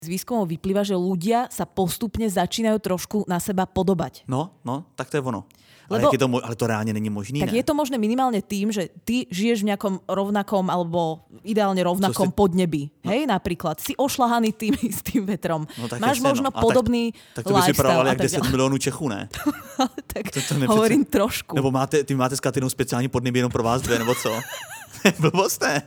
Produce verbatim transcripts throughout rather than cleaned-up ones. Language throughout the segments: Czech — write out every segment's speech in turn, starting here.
Z výskumov vyplýva, že ľudia sa postupne začínajú trošku na seba podobať. No, no, tak to je ono. Lebo, ale, je to, ale to reálne není možný, tak ne? je to možné minimálne tým, že ty žiješ v nejakom rovnakom alebo ideálne rovnakom si... podnebí. No. Hej, napríklad. Si ošlahaný tým istým vetrom. No, Máš jasne, možno no. podobný tak, tak to by si lifestyle. jak deset milionů Čechů, ne? tak to, to hovorím trošku. Nebo máte, ty máte s Katynou speciální podnebí jenom pro vás dvě, nebo co? Blbost, ne?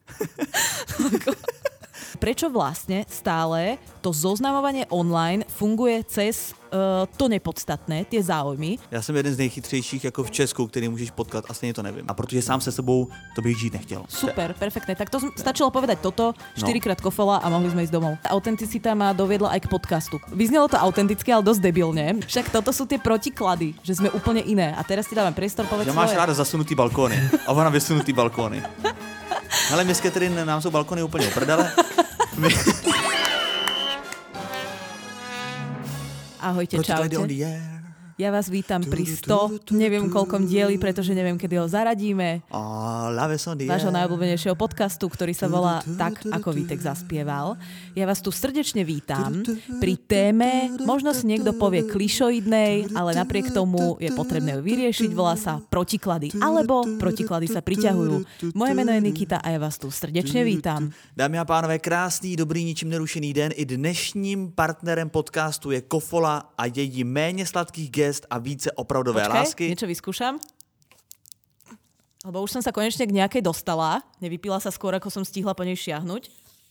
Prečo vlastne stále to zoznamovanie online funguje cez uh, to nepodstatné, tie záujmy? Já jsem jeden z nejchytřejších jako v Česku, který můžeš potkat, a stejně to nevím. A protože sám se sebou to bych žít nechtěl. Super, perfektné. Tak to stačilo povedať toto, štyrikrát kofola a mohli sme ísť domov. Tá autenticita ma doviedla aj k podcastu. Vyznelo to autenticky, ale dosť debilne. Však toto sú tie protiklady, že sme úplne iné. A teraz ti dávam priestor, povedz že máš svoje. ráda zasunutý balkóny a ona vysunutý balkóny. Ale my s Catherine, nám jsou balkony úplně uprdele. My... Ahojte, čaute. Ja vás vítam pri sto, neviem koľkom dieli, pretože neviem, kedy ho zaradíme. Vášho najobľúbenejšieho podcastu, ktorý sa volá Tak, ako Vítek zaspieval. Ja vás tu srdečne vítam pri téme, možno si niekto povie klišoidnej, ale napriek tomu je potrebné ju vyriešiť, volá sa protiklady. Alebo protiklady sa priťahujú. Moje meno je Nikita a ja vás tu srdečne vítam. Dámy a pánové, krásný, dobrý, ničím nerušený den. I dnešním partnerem podcastu je Kofola a její méně sladkých gest a více opravdové Počkej, lásky. niečo vyskúšam. Lebo už som sa konečne k nejakej dostala. Nevypila sa skôr, ako som stihla po nej šiahnuť.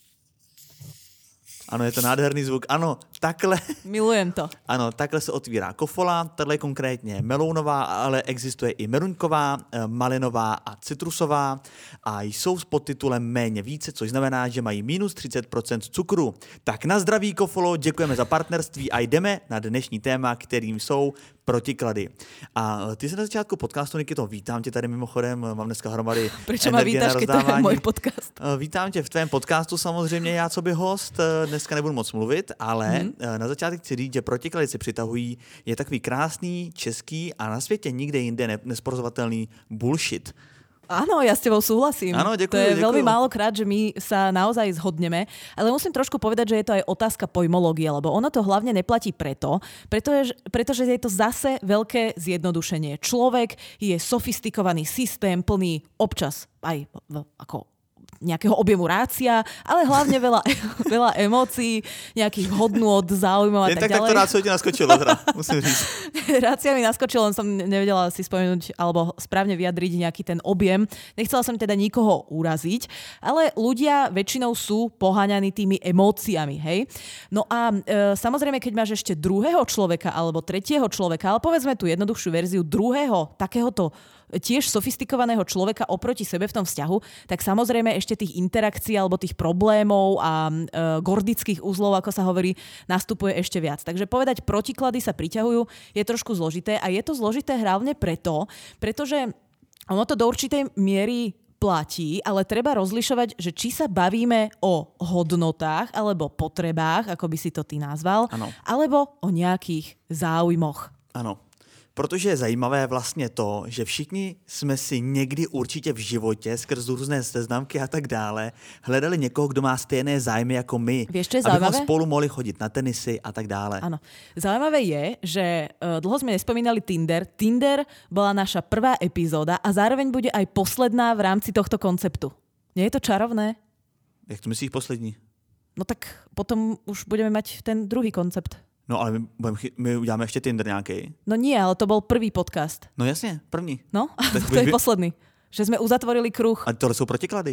Ano, je to nádherný zvuk. Ano, takhle. Milujem to. Ano, takhle se otvírá kofola. Tahle je konkrétně melounová, ale existuje i meruňková, malinová a citrusová. A jsou s podtitulem Méně více, což znamená, že mají minus třicet procent cukru. Tak na zdraví, Kofolo, děkujeme za partnerství a jdeme na dnešní téma, kterým jsou protiklady. A ty se na začátku podcastu, Nikito, vítám tě tady mimochodem, mám dneska hromady Prečo ma vítáš, keď to je môj podcast? Vítám tě v tvém podcastu samozřejmě, já co by host, dneska nebudu moc mluvit, ale hmm. na začátek chci říct, že protiklady se přitahují, je takový krásný, český a na světě nikde jinde ne- nesporozovatelný bullshit. Áno, ja s tebou súhlasím. Áno, ďakujem, to je ďakujem. veľmi málokrát, že my sa naozaj zhodneme, ale musím trošku povedať, že je to aj otázka pojmológie, lebo ono to hlavne neplatí preto, pretože, pretože je to zase veľké zjednodušenie. Človek je sofistikovaný systém, plný občas aj ako nejakého objemu rácia, ale hlavne veľa, veľa emócií, nejakých hodnôt, záujmov a Jen tak, tak ďalej. Tak to rácio ti naskočilo, teda, musím říct. Rácia mi naskočilo, len som nevedela si spomenúť alebo správne vyjadriť nejaký ten objem. Nechcela som teda nikoho uraziť, ale ľudia väčšinou sú poháňaní tými emóciami, hej? No a e, samozrejme, keď máš ešte druhého človeka alebo tretieho človeka, ale povedzme tú jednoduchšiu verziu druhého takéhoto tiež sofistikovaného človeka oproti sebe v tom vzťahu, tak samozrejme ešte tých interakcií alebo tých problémov a e, gordických uzlov, ako sa hovorí, nastupuje ešte viac. Takže povedať protiklady sa priťahujú je trošku zložité a je to zložité hlavne preto, pretože ono to do určitej miery platí, ale treba rozlišovať, že či sa bavíme o hodnotách alebo potrebách, ako by si to ty nazval, ano. alebo o nejakých záujmoch. Ano. Protože je zajímavé vlastně to, že všichni jsme si někdy určitě v životě skrz různé seznamky a tak dále hledali někoho, kdo má stejné zájmy jako my. Vieš, čo je abychom zaujímavé? spolu mohli chodit na tenisy a tak dále. Áno. Zaujímavé je, že uh, dlho sme nespomínali Tinder. Tinder bola naša prvá epizóda a zároveň bude aj posledná v rámci tohto konceptu. Nie je to čarovné? Jak to myslíš poslední? No tak potom už budeme mať ten druhý koncept. No ale my, budeme, my uděláme ještě Tinder nějaký. No nie, ale to bol prvý podcast. No jasně, první. No, Tak to je by... posledný. Že sme uzatvorili kruh. A tohle jsou protiklady.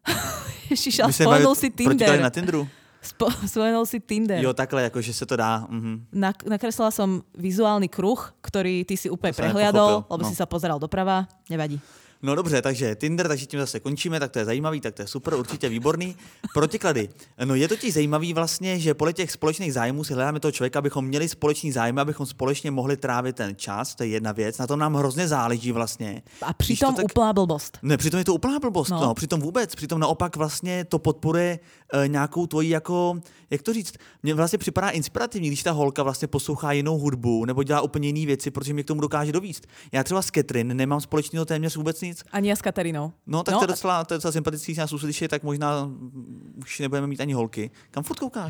Ježiš, ale spomenul si Tinder. Protiklady na Tinderu. Spo- spomenul si Tinder. Jo, takhle, jako že se to dá. Mhm. Na, nakreslila som vizuálny kruh, ktorý ty si úplne To som prehliadol, nepochopil, lebo no. si sa pozeral doprava. Nevadí. No dobře, takže Tinder, takže tím zase končíme, tak to je zajímavý, tak to je super, určitě výborný. Protiklady. No je totiž zajímavý vlastně, že podle těch společných zájmů si hledáme toho člověka, abychom měli společný zájmy, abychom společně mohli trávit ten čas, to je jedna věc, na tom nám hrozně záleží vlastně. A přitom tak... úplná blbost. Ne, přitom je to úplná blbost, no. no, přitom vůbec, přitom naopak vlastně to podporuje e, nějakou tvoji jako, jak to říct, mně vlastně připadá inspirativní, když ta holka vlastně poslouchá jinou hudbu nebo dělá úplně jiné věci, protože mě k tomu dokáže dovíst. Já třeba s Catherine nemám společného téměř vůbec nic. Ani já s Katarínou. No, tak no. to je docela, to je docela sympatický, když nás uslyší, tak možná už nebudeme mít ani holky. Kam furt koukáš?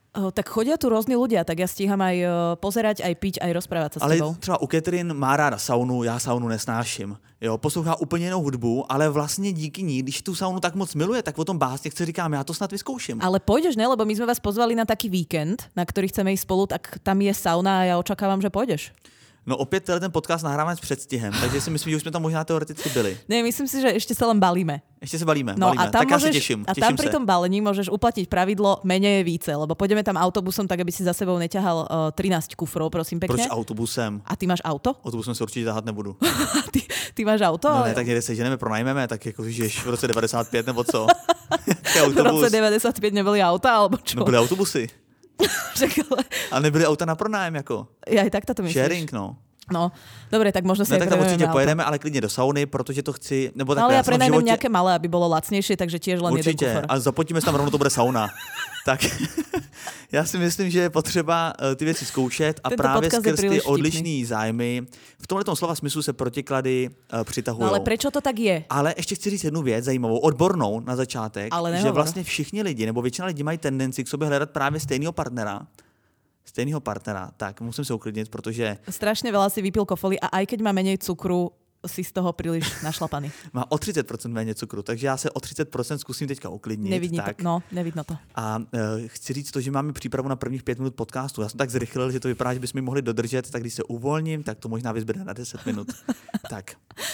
Oh, tak chodia tu rôzni ľudia, tak ja stíham aj uh, pozerať, aj piť, aj rozprávať sa s ale tebou. Ale třeba u Catherine má ráda saunu, já saunu nesnáším. Jo, poslouchá úplně jinou hudbu, ale vlastně díky ní, když tu saunu tak moc miluje, tak o tom básně chce říkám, já to snad vyzkouším. Ale pôjdeš, ne? Lebo my sme vás pozvali na taký víkend, na ktorý chceme ísť spolu, tak tam je sauna a ja očakávam, že pôjdeš. No opět tenhle ten podcast nahráváme s předstihem, takže si myslím, že už jsme tam možná teoreticky byli. Ne, myslím si, že ešte sa len balíme. Ešte sa balíme, no, balíme. A tam tak môžeš, ja sa teším. A tam pri tom balení môžeš uplatniť pravidlo menej je více, lebo pôjdeme tam autobusom, tak aby si za sebou neťahal uh, trinásť kufrov, prosím pekne. Proč autobusem? A ty máš auto? Autobusem se určitě tahat nebudu. ty, ty máš auto? No ale... ne, tak někde se ženeme, pronajmeme, tak jako žiješ v roce devadesát pět nebo co? V roce devadesát pět neboli auta, alebo čo? No byly autobusy. ale... A nebyly auta na pronájem, jako. Ja aj tak to myslíš. Sharing, no. No, dobre, tak možno si no, aj tak tam určitě auto. pojedeme, ale klidně do sauny, protože to chci, nebo tak no, ale ja prenajmem životě... nejaké malé, aby bolo lacnejšie, takže tiež len určitě, jeden kufor. ale zaplatíme se tam rovnou, to bude sauna. Tak já si myslím, že je potřeba ty věci zkoušet a Tento právě skrz ty vtipný. odlišný zájmy v tomhletom slova smyslu se protiklady uh, přitahují. No ale prečo to tak je? Ale ještě chci říct jednu věc zajímavou, odbornou na začátek, že vlastně všichni lidi, nebo většina lidí mají tendenci k sobě hledat právě stejného partnera, stejného partnera, tak musím se uklidnit, protože... Strašne veľa si vypil kofolí a aj keď má menej cukru, si z toho príliš našlapaný. Má o třicet procent méně cukru, takže já se o třicet procent zkusím teďka uklidnit. Nevidí tak. to, no, nevidno to. A uh, chci říct to, že máme přípravu na prvních pět minut podcastu. Já jsem tak zrychlil, že to vypadá, že bychom mi mohli dodržet, tak když se uvolním, tak to možná vyzběde na deset minut. tak.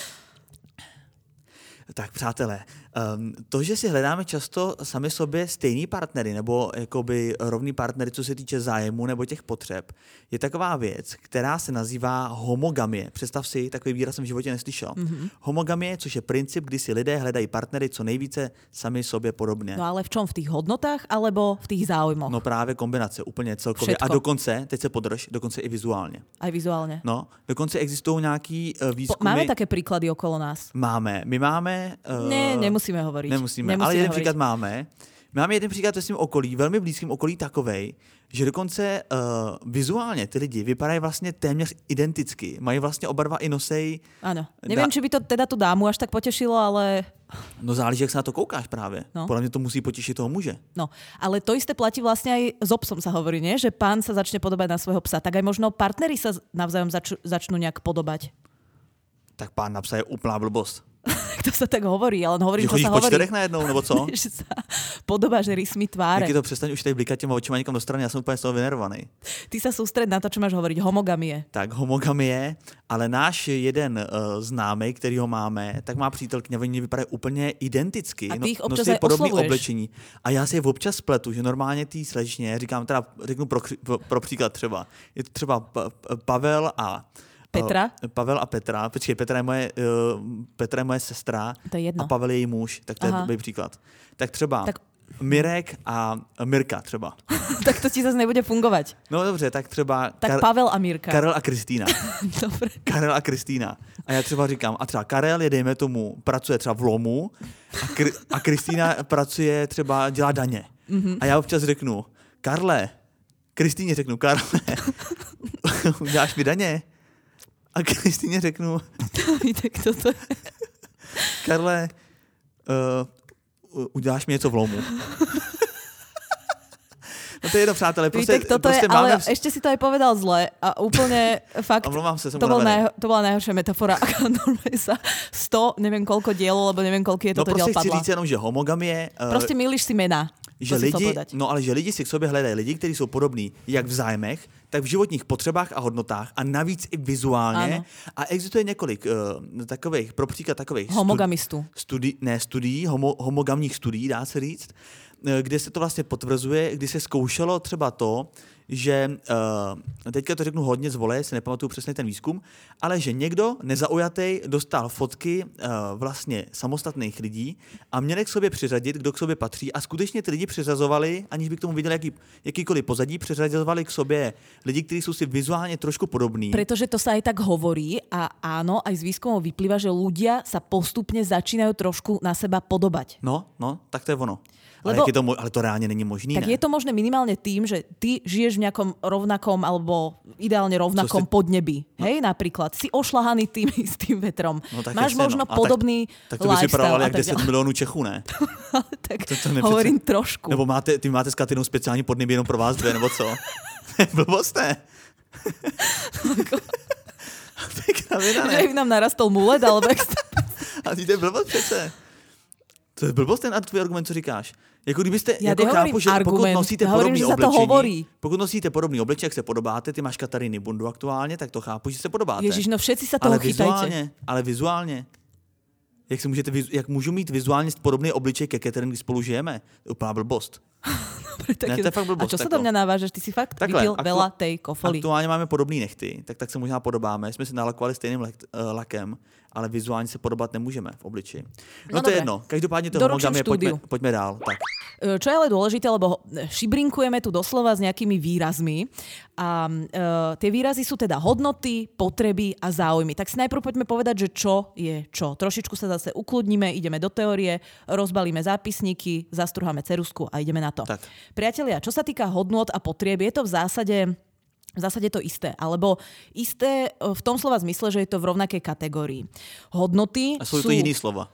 Tak přátelé, um, to, že si hledáme často sami sobě stejný partnery nebo jakoby rovný partnery, co se týče zájmu nebo těch potřeb, je taková věc, která se nazývá homogamie. Představ si, takový výraz jsem v životě neslyšel. Mm-hmm. Homogamie, což je princip, kdy si lidé hledají partnery co nejvíce sami sobě podobně. No ale v čom? V tých hodnotách alebo v tých záujmoch? No právě kombinace, úplně celkově. Všetko. A dokonce, teď se podrž, dokonce i vizuálně. Aj vizuálně. No, dokonce existují nějaký uh, výzkumy. Po, máme také príklady okolo nás? Máme. My máme... Uh, ne, nemusíme hovoriť. Nemusíme, nemusíme ale jeden hovoriť. příklad máme. Máme jeden příklad ve svém okolí, velmi blízkém okolí takovej, že dokonce uh, vizuálně ty lidi vypadají vlastně téměř identicky. Mají vlastně oba dva i nosej... Áno. Neviem, či by to teda tu dámu až tak potešilo, ale... No záleží, jak se na to koukáš právě. No. Podle mě to musí potěšit toho muže. No, ale to isté platí vlastne aj so psom sa hovorí, nie? Že pán sa začne podobať na svojho psa. Tak aj možno partneri sa navzájom zač- začnú nejak podobať. Tak pán na psa je úplná blbost. To sa tak hovorí, ale hovorím, že čo sa po hovorí. čtyřech najednou, nebo co? Že sa podobáš rysmi tváre. Jak to přestaň už tady blikat těma očima někam do strany, já jsem úplně z toho vynervovaný. Ty sa sústred na to, čo máš hovoriť, homogamie. Tak homogamie, ale náš jeden uh, známej, který ho máme, tak má přítelkyně, oni vypadají úplně identicky. A ty ich občas nosí aj podobný oslovuješ. oblečení. A já si je občas spletu, že normálně tý slečně, říkám teda, řeknu pro, pro, pro příklad třeba, je to třeba pa, Pavel a Petra? Uh, Pavel a Petra. Počkej, Petra je moje, uh, Petra je moje sestra to je jedno. a Pavel je její muž, tak to Aha. je dobrý příklad. Tak třeba tak... Mirek a Mirka třeba. Tak to ti zase nebude fungovať. No dobře, tak třeba... Tak Kar- Pavel a Mirka. Karel a Kristýna. Dobre. Karel a Kristýna. A já třeba říkám, a třeba Karel je, dejme tomu, pracuje třeba v lomu a, Kr- a Kristýna pracuje třeba, dělá daně. Mm-hmm. A já občas řeknu, Karle, Kristýně řeknu, Karle, uděláš mi daně? A Kristýně řeknu... Tak toto je... Karle, uh, uděláš mi něco v lomu. No to je jedno, přátelé. Prostě, Vítek, toto prostě je, máme... ale ešte si to aj povedal zle a úplne fakt... Omlouvám se, som to, bol najho, to bola najhoršia metafora. Normálne sa sto, neviem koľko dielo, lebo neviem koľko je toto no, diel padla. No prostě chci říct jenom, že homogamie... Uh, prostě mýliš si mena. Že lidi, no ale že lidi si k sobě hledají lidi, kteří jsou podobní jak v zájmech, tak v životních potřebách a hodnotách a navíc i vizuálně. Ano. A existuje několik uh, takových, pro příklad takových homogamistů. Studi- ne studií, homo, homogamních studií, dá se říct, kde se to vlastně potvrzuje, kdy se zkoušelo třeba to, že uh, teďka to řeknu hodně z vole, si nepamatuju přesně ten výzkum, ale že někdo nezaujatý dostal fotky uh, vlastně samostatných lidí a měli k sobě přiřadit, kdo k sobě patří a skutečně ty lidi přiřazovali, aniž by k tomu viděli jaký, jakýkoliv pozadí, přiřazovali k sobě lidi, kteří jsou si vizuálně trošku podobní. Pretože to sa aj tak hovorí a áno, aj z výskumov vyplýva, že ľudia sa postupne začínajú trošku na seba podobať. No, no, tak to je ono. Ale, je to, ale to reálne není možný, tak ne? je to možné minimálne tým, že ty žiješ v nejakom rovnakom alebo ideálne rovnakom si... podnebí. No. Hej, napríklad. Si ošlahaný tým istým vetrom. No, máš jasne, možno no. podobný tak, tak to by si lifestyle. jak deset milionů Čechů, ne? tak to, to hovorím nepřece... trošku. Nebo máte, ty máte s Katynou speciální podnebí jenom pro vás dvě, nebo co? Blbost, ne? Pěkná věda, ne? Že nám narastol mulet, alebo... A ty to je blbost přece. To je blbost ten tvůj argument, co říkáš. Jako kdybyste, já jako chápu, že argument. pokud nosíte já podobný hovorím, oblečení, pokud nosíte podobný oblečení, jak se podobáte, ty máš Kataríny bundu aktuálně, tak to chápu, že se podobáte. Ježiš, no všetci sa toho ale chytajte. Vizuálně, ale vizuálně. Jak, se můžete, jak můžu mít vizuálně podobný obličej ke Katarín, když spolu žijeme? To je úplná blbost. Dobre, tak ne, to je fakt blbost. A čo sa do mňa navážeš? Ty si fakt takhle, vypil aktu- veľa tej kofoly. Aktuálně máme podobný nechty, tak tak se možná podobáme. Jsme se nalakovali stejným lak, uh, lakem, ale vizuálně se podobat nemůžeme v obličeji. No, no to je jedno. Každopádně to homogamie, pojďme, pojďme dál. Tak. Čo je ale dôležité, lebo šibrinkujeme tu doslova s nejakými výrazmi a uh, tie výrazy sú teda hodnoty, potreby a záujmy. Tak si najprv poďme povedať, že čo je čo. Trošičku sa zase ukludníme, ideme do teórie, rozbalíme zápisníky, zastruháme ceruzku a ideme na to. Tak. Priatelia, čo sa týka hodnôt a potrieb, je to v zásade... V zásade to isté, alebo isté v tom slova zmysle, že je to v rovnakej kategórii. Hodnoty a sú... sú... to iný slova.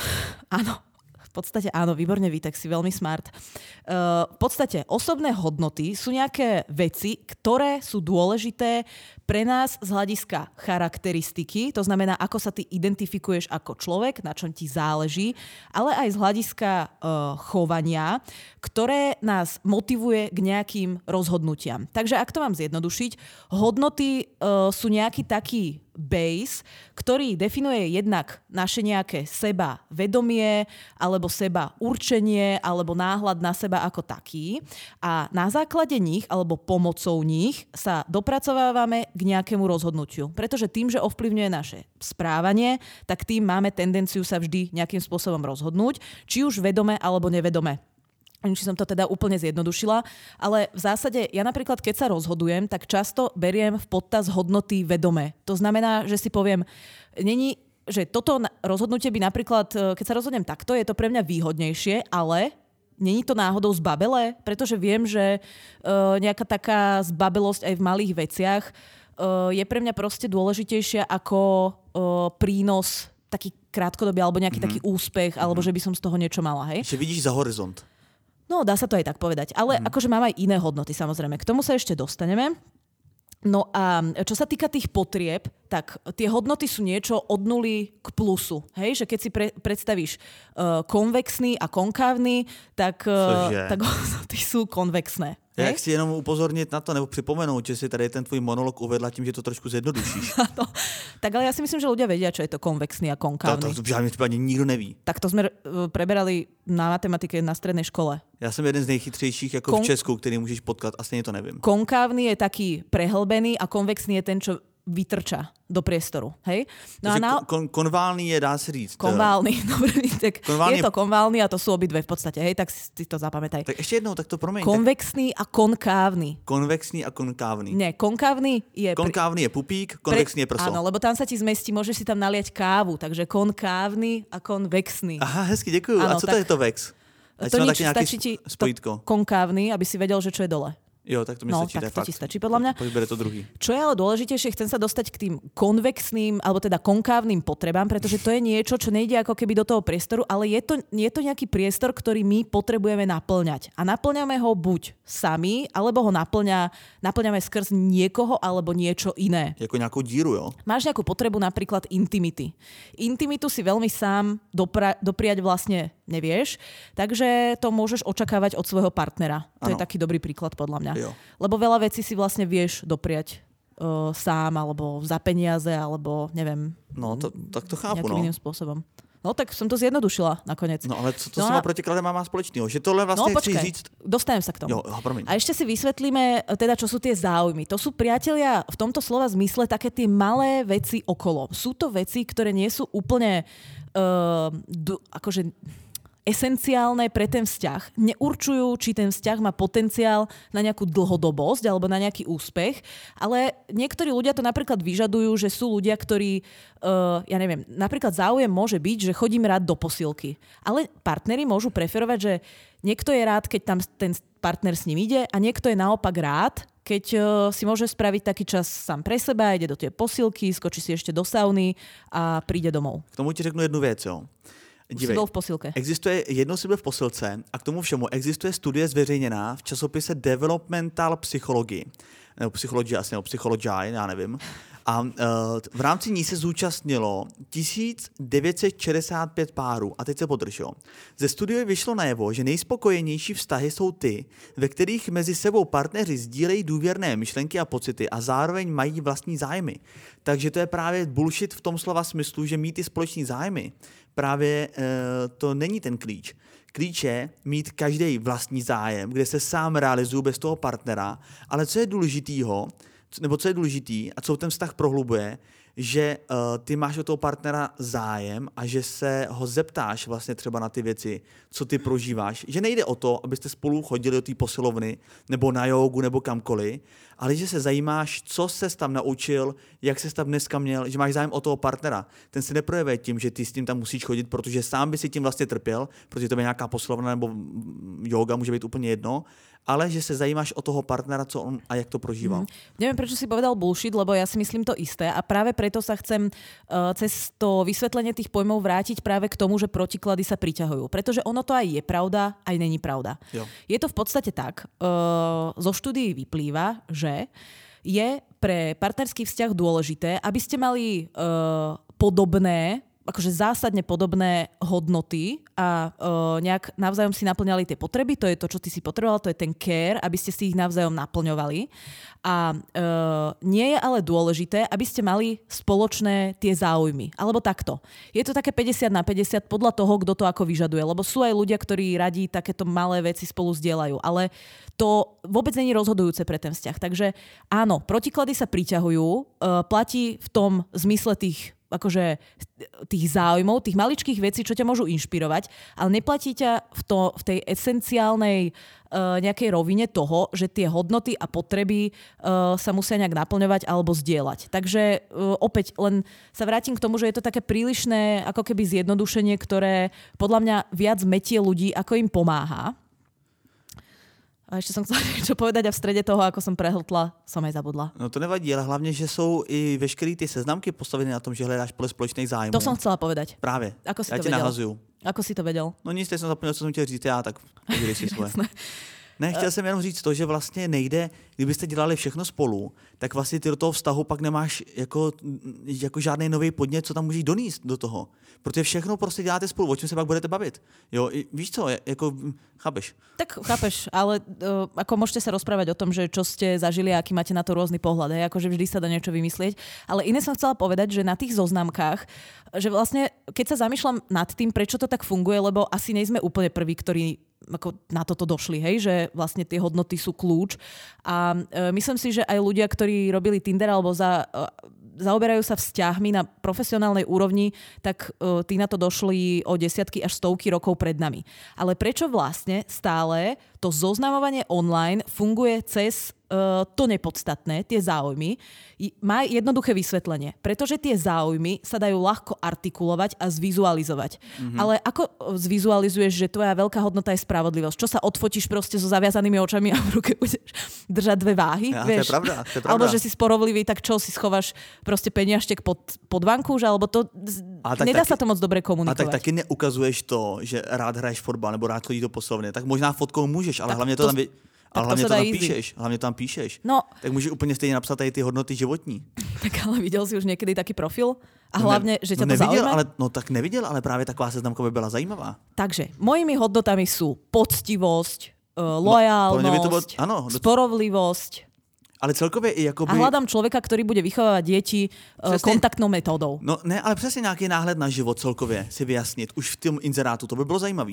Áno, v podstate áno, výborne Vítek, si veľmi smart. Uh, v podstate osobné hodnoty sú nejaké veci, ktoré sú dôležité pre nás z hľadiska charakteristiky, to znamená, ako sa ty identifikuješ ako človek, na čom ti záleží, ale aj z hľadiska uh, chovania, ktoré nás motivuje k nejakým rozhodnutiam. Takže ak to mám zjednodušiť, hodnoty uh, sú nejaký taký base, ktorý definuje jednak naše nejaké seba vedomie, alebo seba určenie, alebo náhľad na seba ako taký. A na základe nich, alebo pomocou nich sa dopracovávame k nejakému rozhodnutiu. Pretože tým, že ovplyvňuje naše správanie, tak tým máme tendenciu sa vždy nejakým spôsobom rozhodnúť, či už vedome alebo nevedome. Či som to teda úplne zjednodušila, ale v zásade ja napríklad, keď sa rozhodujem, tak často beriem v podtaz hodnoty vedomé. To znamená, že si poviem, není, že toto rozhodnutie by napríklad, keď sa rozhodnem takto, je to pre mňa výhodnejšie, ale není to náhodou zbabelé, pretože viem, že uh, nejaká taká zbabelosť aj v malých veciach uh, je pre mňa proste dôležitejšia ako uh, prínos taký krátkodobý alebo nejaký mm-hmm. taký úspech, mm-hmm. alebo že by som z toho niečo mala. Hej? Že vidíš za horizont. No, dá sa to aj tak povedať. Ale mm. akože mám aj iné hodnoty, samozrejme. K tomu sa ešte dostaneme. No a čo sa týka tých potrieb, tak tie hodnoty sú niečo od nuly k plusu. Hej, že keď si pre, predstavíš uh, konvexný a konkávny, tak, uh, tak hodnoty sú konvexné. Já chci jenom upozornit na to, nebo připomenout, že si tady ten tvůj monolog uvedla tím, že to trošku zjednodušíš. no, tak ale já si myslím, že ľudia vedia, čo je to konvexný a konkávny. To, to v žádném případě nikdo neví. Tak to jsme preberali na matematike na strednej škole. Já jsem jeden z nejchytřejších jako Kon... v Česku, který můžeš potkat, a stejně to nevím. Konkávny je taký prehlbený a konvexný je ten, čo vytrča do priestoru. Hej? No Takže a na... kon- konválny je, dá se říct. Konválny, dobre, tak konválny je to konválny a to sú obidve v podstate, hej, tak si to zapamätaj. Tak ešte jednou, tak to promiň. Konvexný tak... a konkávny. Konvexný a konkávny. Nie, konkávny je... Konkávny je pupík, konvexný je prso. Áno, lebo tam sa ti zmestí, môžeš si tam naliať kávu, takže konkávny a konvexný. Aha, hezky, děkuju. Áno, a co tak... to je to vex? Ať to nič, stačí ti to konkávny, aby si vedel, že čo je dole. Jo, tak to mi no, stačí, tak to, to fakt. ti stačí podľa mňa. Poď bere to druhý. Čo je ale dôležitejšie, chcem sa dostať k tým konvexným, alebo teda konkávnym potrebám, pretože to je niečo, čo nejde ako keby do toho priestoru, ale je to, je to nejaký priestor, ktorý my potrebujeme naplňať. A naplňame ho buď sami, alebo ho naplňa, naplňame skrz niekoho, alebo niečo iné. Jako nejakú díru, jo? Máš nejakú potrebu napríklad intimity. Intimitu si veľmi sám dopra- dopriať vlastne nevieš, takže to môžeš očakávať od svojho partnera. To ano. Je taký dobrý príklad podľa mňa. Jo. Lebo veľa vecí si vlastne vieš dopriať uh, sám, alebo za peniaze, alebo neviem. No, to, tak to chápu, nejakým no. iným spôsobom. No tak som to zjednodušila nakoniec. No ale co to no, s těma protikladem má společného? Že tohle vlastně no, chci počkej, říct... dostanem sa k tomu. Jo, promiň. A ešte si vysvetlíme, teda, čo sú tie záujmy. To sú, priatelia, v tomto slova zmysle také tie malé veci okolo. Sú to veci, ktoré nie sú úplne uh, d- akože... esenciálne pre ten vzťah. Neurčujú, či ten vzťah má potenciál na nejakú dlhodobosť alebo na nejaký úspech, ale niektorí ľudia to napríklad vyžadujú, že sú ľudia, ktorí, uh, ja neviem, napríklad záujem môže byť, že chodím rád do posilky. Ale partneri môžu preferovať, že niekto je rád, keď tam ten partner s ním ide a niekto je naopak rád, keď uh, si môže spraviť taký čas sám pre seba, ide do tej posilky, skočí si ešte do sauny a príde domov. K tomu ti řeknu jednu věc, jo. Dívej, byl v posilke. Existuje, jednou si byl v posilce a k tomu všemu existuje studie zveřejněná v časopise Developmental Psychology, nebo Psychology, asi nebo Psychology, já nevím. A uh, v rámci ní se zúčastnilo tisíc devět set šedesát pět párů. A teď se podrž, jo. Ze studie vyšlo najevo, že nejspokojenější vztahy jsou ty, ve kterých mezi sebou partneři sdílejí důvěrné myšlenky a pocity a zároveň mají vlastní zájmy. Takže to je právě bullshit v tom slova smyslu, že mít ty společný zájmy. Právě uh, to není ten klíč. Klíč je mít každý vlastní zájem, kde se sám realizuje bez toho partnera, ale co je důležitýho, nebo co je důležitý a co ten vztah prohlubuje, že uh, ty máš od toho partnera zájem a že se ho zeptáš vlastně třeba na ty věci, co ty prožíváš. Že nejde o to, abyste spolu chodili do té posilovny nebo na jógu nebo kamkoliv, ale že se zajímáš, co ses tam naučil, jak ses tam dneska měl, že máš zájem o toho partnera. Ten se neprojevuje tím, že ty s tím tam musíš chodit, protože sám by si tím vlastně trpěl, protože to je nějaká posilovna nebo jóga, může být úplně jedno, ale že se zajímáš o toho partnera, co on a jak to prožíval. Mm. Neviem, prečo si povedal bullshit, lebo ja si myslím to isté a práve preto sa chcem uh, cez to vysvetlenie tých pojmov vrátiť práve k tomu, že protiklady sa priťahujú. Pretože ono to aj je pravda, aj není pravda. Jo. Je to v podstate tak, uh, zo štúdií vyplýva, že je pre partnerský vzťah dôležité, aby ste mali uh, podobné akože zásadne podobné hodnoty a uh, nejak navzájom si naplňali tie potreby, to je to, čo ty si potreboval, to je ten care, aby ste si ich navzájom naplňovali. A uh, nie je ale dôležité, aby ste mali spoločné tie záujmy. Alebo takto. Je to také päťdesiat na päťdesiat podľa toho, kto to ako vyžaduje. Lebo sú aj ľudia, ktorí radi takéto malé veci spolu zdieľajú. Ale to vôbec nie je rozhodujúce pre ten vzťah. Takže áno, protiklady sa priťahujú, uh, platí v tom zmysle tých akože tých záujmov, tých maličkých vecí, čo ťa môžu inšpirovať, ale neplatí ťa v, to, v tej esenciálnej uh, nejakej rovine toho, že tie hodnoty a potreby uh, sa musia nejak naplňovať alebo zdieľať. Takže uh, opäť len sa vrátim k tomu, že je to také prílišné ako keby zjednodušenie, ktoré podľa mňa viac metie ľudí, ako im pomáha. A ještě jsem chcela něco povedať a v středě toho, ako som prehltla, som aj zabudla. No to nevadí, ale hlavně, že jsou i veškeré ty seznamky postavené na tom, že hledáš podle společných zájmů. To som chcela povedať. Právě. Ako si já to tě vedel? nahazuju. Ako si to vedel? No nic, teď jsem zapomněl, co jsem chtěl říct já, tak povídej si svoje. Ne, chtěl jsem jenom říct to, že vlastně nejde, kdybyste dělali všechno spolu, tak vlastně ty do toho vztahu pak nemáš jako, jako žádný nový podnět, co tam můžeš donést do toho. Protože všechno prostě děláte spolu, o čem se pak budete bavit. Jo, víš co, jako, chápeš? Tak chápeš, ale uh, ako môžete sa rozprávať o tom, že čo ste zažili a aký máte na to rôzny pohľad, hej? Akože vždy sa dá niečo vymyslieť. Ale iné som chcela povedať, že na tých zoznamkách, že vlastne, keď sa zamýšľam nad tým, prečo to tak funguje, lebo asi nejsme úplne prví, ktorí ako na toto došli, hej, že vlastne tie hodnoty sú kľúč. A e, myslím si, že aj ľudia, ktorí robili Tinder alebo za, e, zaoberajú sa vzťahmi na profesionálnej úrovni, tak e, tí na to došli o desiatky až stovky rokov pred nami. Ale prečo vlastne stále to zoznamovanie online funguje cez Uh, to nepodstatné, tie záujmy, má jednoduché vysvetlenie. Pretože tie záujmy sa dajú ľahko artikulovať a zvizualizovať. Mm-hmm. Ale ako zvizualizuješ, že tvoja veľká hodnota je spravodlivosť? Čo sa odfotíš proste so zaviazanými očami a v ruke budeš držať dve váhy? Ja, vieš? To je pravda, to je pravda. Alebo že si sporovlivý, tak čo, si schováš proste peniažtek pod, pod vankúš? Alebo to... Tak nedá taky, sa to moc dobre komunikovať. A tak taky neukazuješ to, že rád hraješ fotbal nebo rád chodíš do posilovny. Tak možná fotkou můžeš, ale tak hlavně to, to tam... Vy... Ale hlavně to, to tam easy. píšeš, hlavně to tam píšeš. No. Tak můžeš úplně stejně napsat tady ty hodnoty životní. Tak ale viděl jsi už někdy taky profil? A hlavně, no ne, že tě no to zaujíma? Ale, no tak neviděl, ale právě taková seznamka by byla zajímavá. Takže, mojimi hodnotami jsou poctivosť, uh, lojálnosť, no, ano, sporovlivosť. Ale celkově i jakoby... A hledám člověka, který bude vychovávat děti uh, kontaktnou metodou. No ne, ale přesně nějaký náhled na život celkově si vyjasnit. Už v tom inzerátu, to by bylo zajímavý.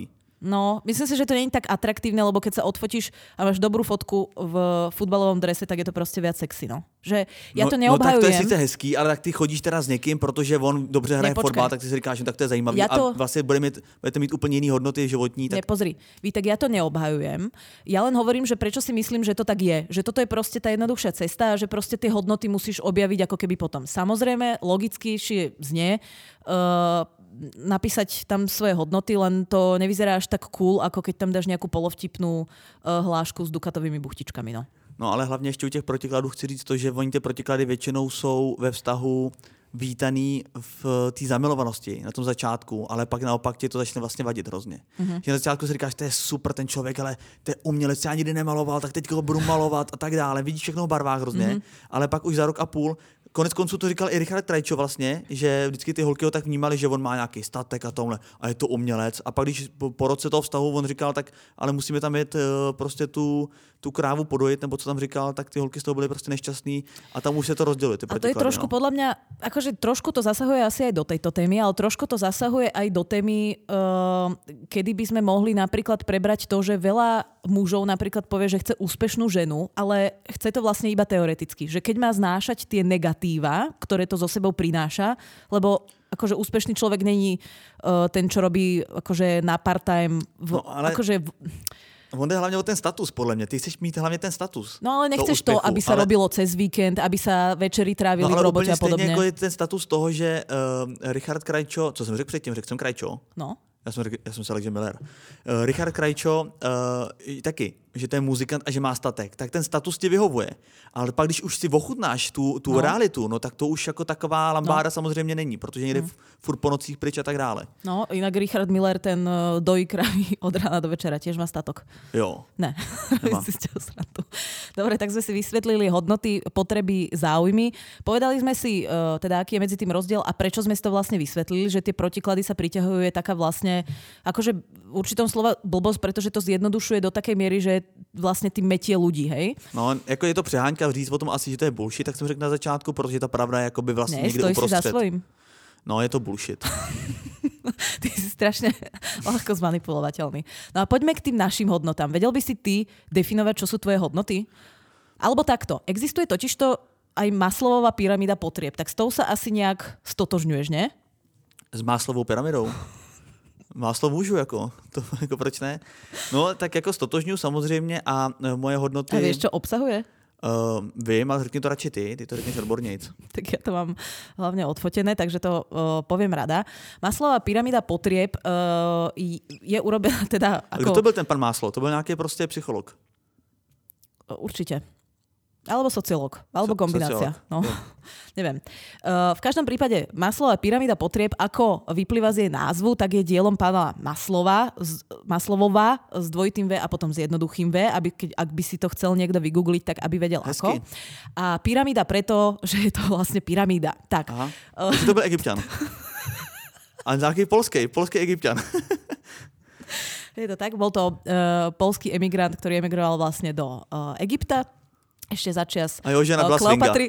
No, myslím si, že to nie je tak atraktívne, lebo keď sa odfotíš a máš dobrú fotku v futbalovom drese, tak je to prostě viac sexy, no. Že ja to no, neobhajujem. No tak to je sice hezký, ale tak ty chodíš teda s někým, protože on dobře hraje fotbal, tak ty si říkáš, že tak to je zajímavý ja to... a vlastně bude mít, budete mít úplně jiný hodnoty životní. Tak... Ne, pozri, ví, tak ja to neobhajujem. Ja len hovorím, že prečo si myslím, že to tak je. Že toto je prostě tá jednoduchšia cesta a že prostě ty hodnoty musíš objaviť ako keby potom. Samozrejme, logickejšie znie, uh, napísať tam svoje hodnoty, len to nevyzerá až tak cool, ako keď tam dáš nejakú polovtipnú uh, hlášku s dukatovými buchtičkami. No. no ale hlavně ještě u těch protikladů chci říct to, že oni ty protiklady většinou jsou ve vztahu vítaný v té zamilovanosti na tom začátku, ale pak naopak tě to začne vlastně vadit hrozně. Mm-hmm. Že na začátku si říkáš, to je super ten člověk, ale to je umělec, já nikdy nemaloval, tak teď ho budu malovat a tak dále. Vidíš všechno v barvách hrozně, mm-hmm. ale pak už za rok a půl konec konců to říkal i Richard Krajčo vlastně, že vždycky ty holky ho tak vnímali, že on má nějaký statek a tomhle a je to umělec. A pak když po, po roce toho vztahu on říkal, tak ale musíme tam jet uh, prostě tu, tu krávu podojit, nebo co tam říkal, tak ty holky z toho byly prostě nešťastný a tam už se to rozdělilo. A to je trošku no. podľa mňa, akože trošku to zasahuje asi aj do tejto témy, ale trošku to zasahuje aj do témy, uh, kedy by sme mohli napríklad prebrať to, že veľa mužov napríklad povie, že chce úspešnú ženu, ale chce to vlastne iba teoreticky. Že keď má znášať tie negatíva, ktoré to so sebou prináša, lebo akože úspešný človek není uh, ten, čo robí akože na part-time. V, no, ale... akože v... On jde hlavně o ten status, podle mě. Ty chceš mít hlavně ten status. No ale nechceš to, úspěchu, to aby sa ale... robilo cez víkend, aby sa večery trávili no, v robote a podobně. No ale úplně stejně jako je ten status toho, že uh, Richard Krajčo, co jsem řekl předtím, řekl jsem Krajčo. No. Já jsem, já jsem se řekl, že Miller. Uh, Richard Krajčo uh, taky, že to je muzikant a že má statek, tak ten status ti vyhovuje. Ale pak, když už si ochutnáš tu, tu no. realitu, no tak to už jako taková lambáda no. samozřejmě není, protože někde hmm. furt po nocích pryč a tak dále. No, inak Richard Miller, ten uh, dojí kravy od rána do večera, tiež má statok. Jo. Ne. Dobre, tak sme si vysvetlili hodnoty, potreby, záujmy. Povedali sme si, uh, teda, aký je medzi tým rozdiel a prečo sme si to vlastne vysvetlili, že tie protiklady sa priťahujú, je taká vlastne, akože v určitom slova blbosť, pretože to zjednodušuje do takej miery, že vlastně tým metie ľudí, hej? No, jako je to přeháňka říct o tom asi, že to je bullshit, tak jsem řekl na začátku, protože ta pravda je jakoby vlastně ne, někde uprostřed. Ne, stojíš si za svojím. No, je to bullshit. Ty si strašne ľahko zmanipulovateľný. No a poďme k tým našim hodnotám. Vedel by si ty definovať, čo sú tvoje hodnoty? Alebo takto. Existuje totižto aj Maslowová pyramída potrieb. Tak s tou sa asi nejak stotožňuješ, ne? S Maslowovou pyramidou? Máslo můžu, jako, to, jako proč ne? No, tak jako stotožňuji samozřejmě a moje hodnoty... A víš, čo obsahuje? Uh, vím, ale řekni to radši ty, ty to řekneš odbornějc. Tak ja to mám hlavne odfotené, takže to uh, poviem rada. Maslowová pyramida potrieb uh, je urobená teda ako... Kdo to byl ten pan Maslow? To byl nějaký prostě psycholog. Uh, určite. Alebo sociológ, alebo so, kombinácia. No. Neviem. Uh, v každom prípade Maslowová pyramída potrieb, ako vyplýva z jej názvu, tak je dielom pána Maslowa, z, Maslowova s dvojitým V a potom s jednoduchým V, aby, keď, ak by si to chcel niekto vygoogliť, tak aby vedel Hezky. Ako. A pyramída preto, že je to vlastne pyramída. Tak. Aha. Uh, to byl Egypťan. A nějaký polský, polský Egypťan. Je to tak, bol to uh, polský emigrant, ktorý emigroval vlastne do uh, Egypta. Ešte začias a jeho žena byla Kleopatry.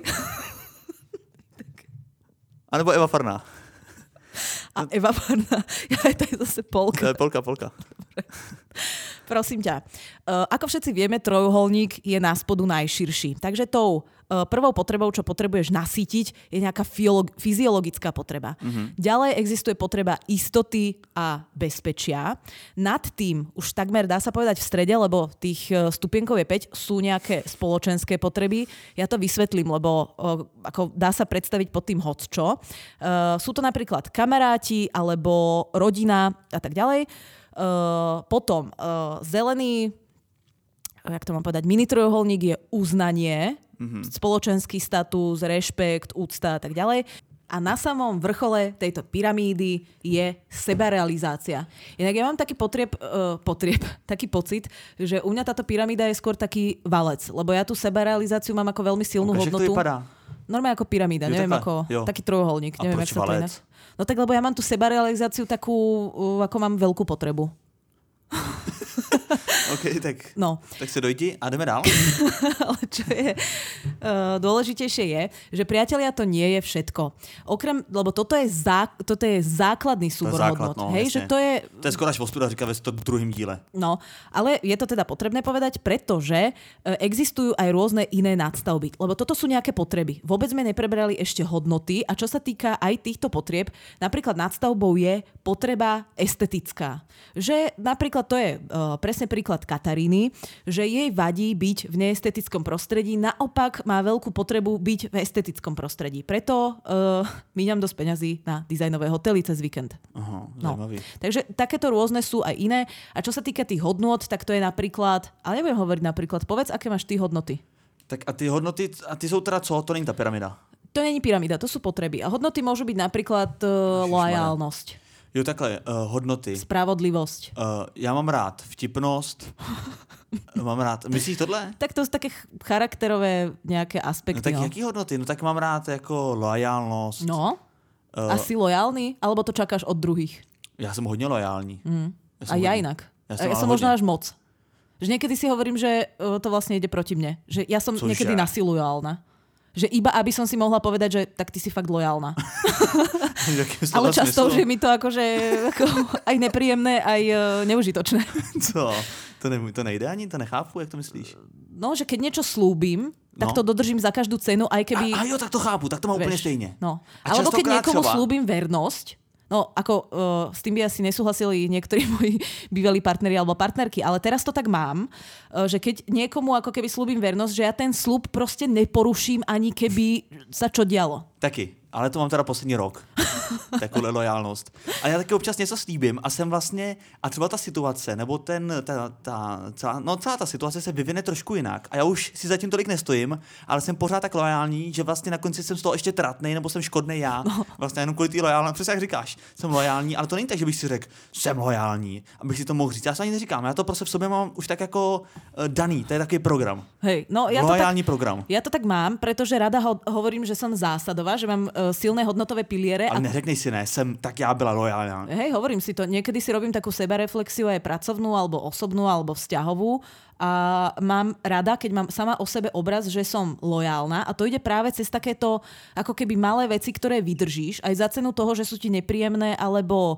A nebo Eva Farná. A Eva Farná. Ja, to je zase Polka. To je Polka, Polka. Dobre. Prosím ťa. Uh, ako všetci vieme, trojuholník je na spodu najširší. Takže tou uh, prvou potrebou, čo potrebuješ nasýtiť, je nejaká fiolo- fyziologická potreba. Mm-hmm. Ďalej existuje potreba istoty a bezpečia. Nad tým už takmer dá sa povedať v strede, lebo tých uh, stupienkov je päť, sú nejaké spoločenské potreby. Ja to vysvetlím, lebo uh, ako dá sa predstaviť pod tým hocčo. Uh, sú to napríklad kamaráti alebo rodina a tak ďalej. Uh, potom uh, zelený, jak to mám povedať, mini trojuholník je uznanie, mm-hmm. spoločenský status, rešpekt, úcta a tak ďalej. A na samom vrchole tejto pyramídy je sebarealizácia. Inak ja mám taký potrieb, uh, potrieb, taký pocit, že u mňa táto pyramída je skôr taký valec, lebo ja tú sebarealizáciu mám ako veľmi silnú okay, hodnotu. To vypadá? Normálne ako pyramída, jo, neviem, ako jo. Taký trojuholník. A neviem, proč valec? No tak, lebo ja mám tú sebarealizáciu takú, ako mám veľkú potrebu. OK, tak, no. tak se dojdi a jdeme dál. Ale čo je... dôležitejšie je, že priatelia to nie je všetko. Okrem, lebo toto je, zá, toto je základný súbor základ, hodnot. No, hej, že to je... To je skoro až ostuda říká ve druhým díle. No, ale je to teda potrebné povedať, pretože existujú aj rôzne iné nadstavby. Lebo toto sú nejaké potreby. Vôbec sme neprebrali ešte hodnoty a čo sa týka aj týchto potrieb, napríklad nadstavbou je potreba estetická. Že napríklad to je uh, presne príklad Kataríny, že jej vadí byť v neestetickom prostredí, naopak má veľkú potrebu byť v estetickom prostredí. Preto uh, míňam dosť peňazí na dizajnové hotely cez víkend. Aha, no. Takže takéto rôzne sú aj iné. A čo sa týka tých hodnôt, tak to je napríklad, ale nebudem hovoriť napríklad, povedz, aké máš ty hodnoty. Tak a ty hodnoty, a ty jsou teda co? To není ta pyramida. To není pyramida, to sú potreby. A hodnoty môžu byť napríklad uh, loajálnosť. Jo, takhle, uh, hodnoty. Spravodlivosť. Uh, já mám rád vtipnost. Mám rád. Myslíš tohle? Tak to sú také charakterové nejaké aspekty. No tak no. jaký hodnoty? No tak mám rád jako loajálnost. No? Uh, A si lojálny? Alebo to čakáš od druhých? Já jsem hodně lojální. Mm. Ja A ja hodně, inak. Ja som, ja som možno až moc. Že niekedy si hovorím, že uh, to vlastne ide proti mne. Že ja som Cože? niekedy nasilujálna. Že iba aby som si mohla povedať, že tak ty si fakt lojálna. Ale často už je mi to akože ako, aj nepríjemné, aj uh, neužitočné. Co? To, ne, to nejde ani? To nechápu, jak to myslíš? No, že keď niečo slúbim, tak no. to dodržím za každú cenu, aj keby... A, a jo, tak to chápu, tak to mám úplne stejne. No. A alebo keď niekomu třeba... slúbim vernosť, no ako uh, s tým by asi nesúhlasili niektorí moji bývalí partneri alebo partnerky, ale teraz to tak mám, uh, že keď niekomu ako keby slúbim vernosť, že ja ten slúb proste neporuším, ani keby sa čo dialo. Taky, ale to mám teda poslední rok. Takovou lojálnost. A já taky občas něco slíbím a jsem vlastně, a třeba ta situace, nebo ten, ta, ta, celá, no celá ta situace se vyvine trošku jinak. A já už si zatím tolik nestojím, ale jsem pořád tak lojální, že vlastně na konci jsem z toho ještě tratnej, nebo jsem škodnej já. No. Vlastně jenom kvůli té lojálnosti, přesně jak říkáš, jsem lojální, ale to není tak, že bych si řekl, jsem lojální, abych si to mohl říct. Já se ani neříkám, já to prostě v sobě mám už tak jako uh, daný, to je takový program. Hej, no ja lojální to tak, program. Ja to tak mám, pretože rada ho, hovorím, že som zásadová, že mám uh, silné hodnotové piliere. Ale a... neřeknej si ne, jsem, tak já byla lojálna. Hej, hovorím si to. Niekedy si robím takú sebareflexiu aj pracovnú, alebo osobnú, alebo vzťahovú. A mám rada, keď mám sama o sebe obraz, že som lojálna. A to ide práve cez takéto ako keby malé veci, ktoré vydržíš. Aj za cenu toho, že sú ti nepríjemné, alebo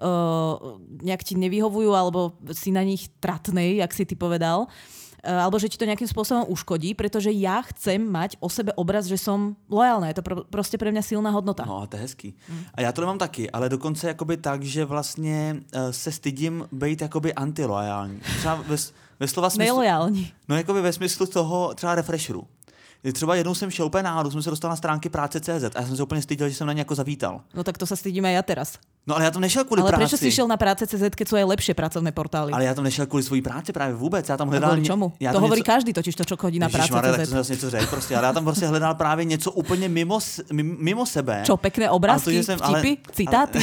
uh, nejak ti nevyhovujú, alebo si na nich tratnej, jak si ty povedal. Alebo že ti to nejakým spôsobom uškodí, pretože ja chcem mať o sebe obraz, že som lojálna. Je to pro, proste pre mňa silná hodnota. No a to je hezký. Mm. A já to nemám taky, ale dokonce jakoby tak, že vlastně uh, se stydím být jakoby antilojální. Třeba ve, ve slova smyslu... Nelojální. No jakoby ve smyslu toho třeba refresheru. Třeba jednou jsem šel úplně náhodou, jsem se dostal na stránky práce tečka cé zet a já jsem se úplně styděl, že jsem na ně jako zavítal. No tak to sa stydím aj ja teraz. No ale já tam nešel kvůli ale práci. Ale prečo si šiel na práce tečka cé zet, keď sú aj lepšie pracovné portály? Ale já tam nešel kvůli svojí práci právě vůbec. Já tam hledal... A kvůli čomu? To hovorí něco... každý totiž to, čo chodí na práce tečka cé zet. Tak to jsem něco řekl prostě, ale já tam prostě hledal právě něco úplně mimo, mimo sebe. Čo, pekné obrázky, to, jsem, vtipy, ale, citáty?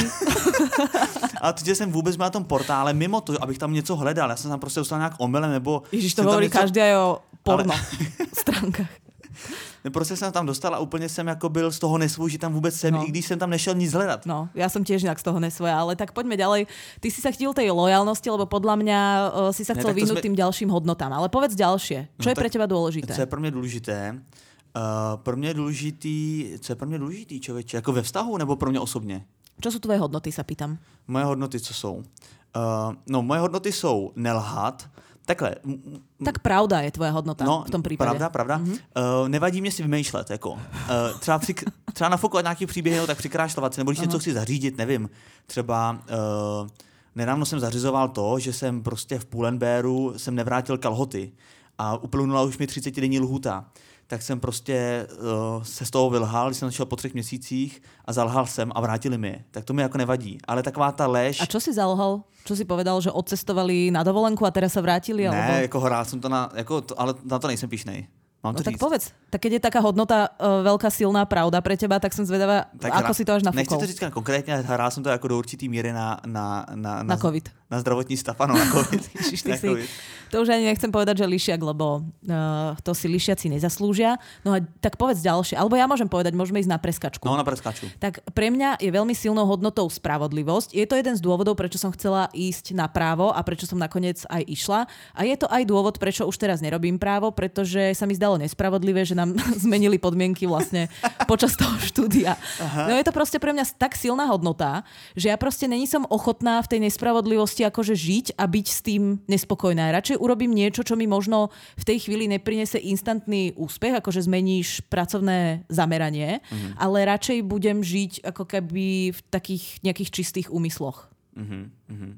Ale, ale to, že jsem vůbec byl na tom portále, mimo to, abych tam něco hledal, já jsem tam prostě dostal nějak omylem, nebo... Ježiš, to hovorí něco... každý aj o porno ale... stránkách. Prostě jsem tam dostal a úplně jsem jako byl z toho nesvůj, že tam vůbec jsem, no. I když jsem tam nešel nic hledat. No, ja som tiež inak z toho nesvoja, ale tak poďme ďalej. Ty si sa chytil tej lojálnosti, lebo podľa mňa uh, si sa chcel vyhnúť sme... tým ďalším hodnotám. Ale povedz ďalšie. Čo no, je pre teba dôležité? Co je pro mě důležité? Uh, pro mě je důležitý, co je pro mě důležitý, člověče? Jako ve vztahu nebo pro mě osobně? Čo sú tvoje hodnoty, sa pýtam. Moje hodnoty, co jsou? Uh, no, moje hodnoty jsou nelhat. Takhle. Tak pravda je tvoje hodnota no, v tom případě. Pravda, pravda. Mm-hmm. Uh, nevadí mě si vymýšlet. Jako. Uh, třeba, při, třeba nafokovat nějaký příběhy, no, tak přikrášlovat si, nebo když uh-huh. něco chci zařídit, nevím. Třeba uh, nedávno jsem zařizoval to, že jsem prostě v Pull&Bearu jsem nevrátil kalhoty a uplynula už mi třicetidenní lhůta. Tak jsem prostě uh, se z toho vylhal, když jsem našel po třech měsících a zalhal jsem a vrátili mi je. Tak to mi jako nevadí. Ale taková ta lež... A čo si zalhal? Čo si povedal, že odcestovali na dovolenku a teraz sa vrátili? Ne, alebo... jako hrál jsem to na... Jako to, ale na to nejsem pyšnej. Mám no to tak říct. povedz. Tak keď je taká hodnota uh, veľká silná pravda pre teba, tak som zvedavá, tak ako hra... si to až nafúkol. Nechci to říct konkrétně, hrál jsem to jako do určitý míry na... Na, na, na, na covid. Na zdravotní stav, ano, na COVID. Ježiš, ty si, to už ani nechcem povedať, že lišiak, lebo uh, to si lišiaci nezaslúžia. No a tak povedz ďalšie. Alebo ja môžem povedať, môžeme ísť na preskačku. No, na preskačku. Tak pre mňa je veľmi silnou hodnotou spravodlivosť. Je to jeden z dôvodov, prečo som chcela ísť na právo a prečo som nakoniec aj išla. A je to aj dôvod, prečo už teraz nerobím právo, pretože sa mi zdalo nespravodlivé, že nám zmenili podmienky vlastne počas toho štúdia. Aha. No je to proste pre mňa tak silná hodnota, že ja proste není som ochotná v tej nespravodlivosti akože žiť a byť s tým nespokojná. Radšej urobím niečo, čo mi možno v tej chvíli neprinese instantný úspech, akože zmeníš pracovné zameranie, mm-hmm. ale radšej budem žiť ako keby v takých nejakých čistých úmysloch. Mm-hmm.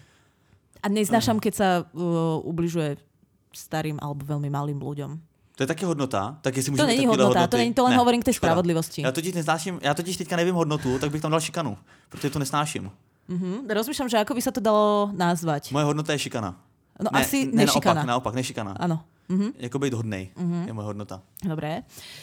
A neznášam, keď sa uh, ubližuje starým alebo veľmi malým ľuďom. To je taky hodnota, tak jestli to není hodnota, hodnoty. To není, to len ne, hovorím k tej spravodlivosti. Já totiž neznáším, já totiž teďka nevím hodnotu, tak bych tam dal šikanu, protože to nesnáším. Mm-hmm. Rozmýšľam, že ako by sa to dalo nazvať. Moje hodnota je šikana. No ne, asi ne, nešikana. Naopak, naopak, nešikana. Áno. Mm-hmm. Jako být hodnej mm-hmm. je moje hodnota. Dobre.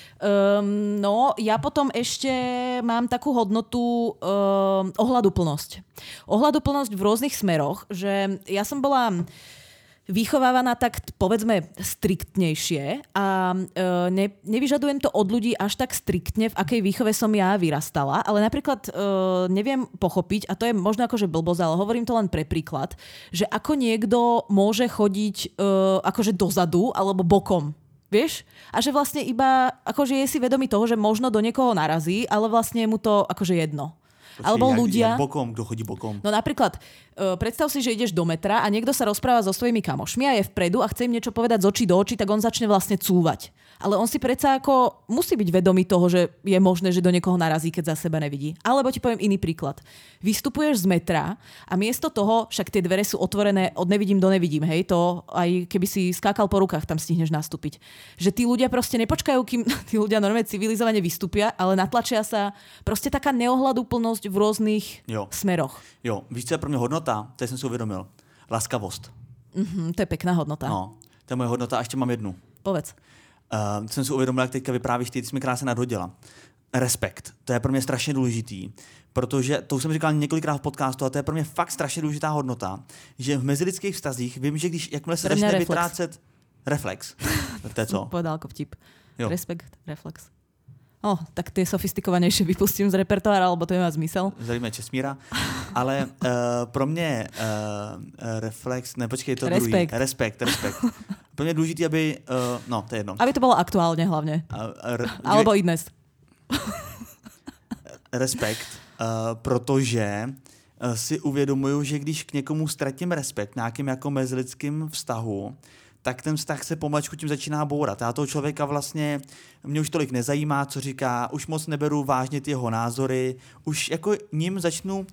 Um, no, ja potom ešte mám takú hodnotu um, ohľaduplnosť. Ohľaduplnosť v rôznych smeroch, že ja som bola vychovávaná tak, povedzme, striktnejšie a e, ne, nevyžadujem to od ľudí až tak striktne, v akej výchove som ja vyrastala, ale napríklad e, neviem pochopiť, a to je možno akože blbosť, ale hovorím to len pre príklad, že ako niekto môže chodiť e, akože dozadu alebo bokom. Vieš? A že vlastne iba akože je si vedomý toho, že možno do niekoho narazí, ale vlastne je mu to akože jedno. Počkej, alebo jak, ľudia... Jak bokom, kto chodí bokom? No napríklad, uh, predstav si, že ideš do metra a niekto sa rozpráva so svojimi kamošmi a je vpredu a chce im niečo povedať z očí do očí, tak on začne vlastne cúvať. Ale on si predsa ako musí byť vedomý toho, že je možné, že do niekoho narazí, keď za seba nevidí. Alebo ti poviem iný príklad. Vystupuješ z metra a miesto toho, však tie dvere sú otvorené od nevidím do nevidím, hej, to aj keby si skákal po rukách, tam stihneš nastúpiť. Že tí ľudia proste nepočkajú, kým tí ľudia normálne civilizovane vystúpia, ale natlačia sa proste taká neohľaduplnosť v rôznych jo. smeroch. Jo, víš, co je pro mě hodnota? To jsem si uvědomil. Laskavost. Mm-hmm, to je pekná hodnota. No, to je moje hodnota a ještě mám jednu. Povedz. Uh, jsem si uvědomil, jak teďka vyprávíš ty, ty jsi mi krásně nadhodila. Respekt. To je pro mě strašně důležitý, protože to už jsem říkal několikrát v podcastu, a to je pro mě fakt strašně důležitá hodnota, že v mezilidských vztazích vím, že když jakmile se začne reflex. vytrácet reflex. To je co? Povedal ako vtip. Jo. Respekt, reflex. Oh, tak tie sofistikovanejšie vypustím z repertoára, alebo to nemá zmysel. Zdravíme Česmíra. Ale uh, pro mě uh, reflex, ne, počkej, to respekt. druhý. Respekt, respekt. Pro mě je důležitý, aby, uh, no, to je jedno. Aby to bolo aktuálne hlavne. Uh, r- alebo i dnes. Respekt, uh, protože uh, si uvědomuju, že když k někomu ztratím respekt, nějakým jako mezilidským vztahu, tak ten vztah se pomačku tím začíná bourat. Já toho člověka vlastně, mě už tolik nezajímá, co říká, už moc neberu vážně ty jeho názory, už jako ním začnu,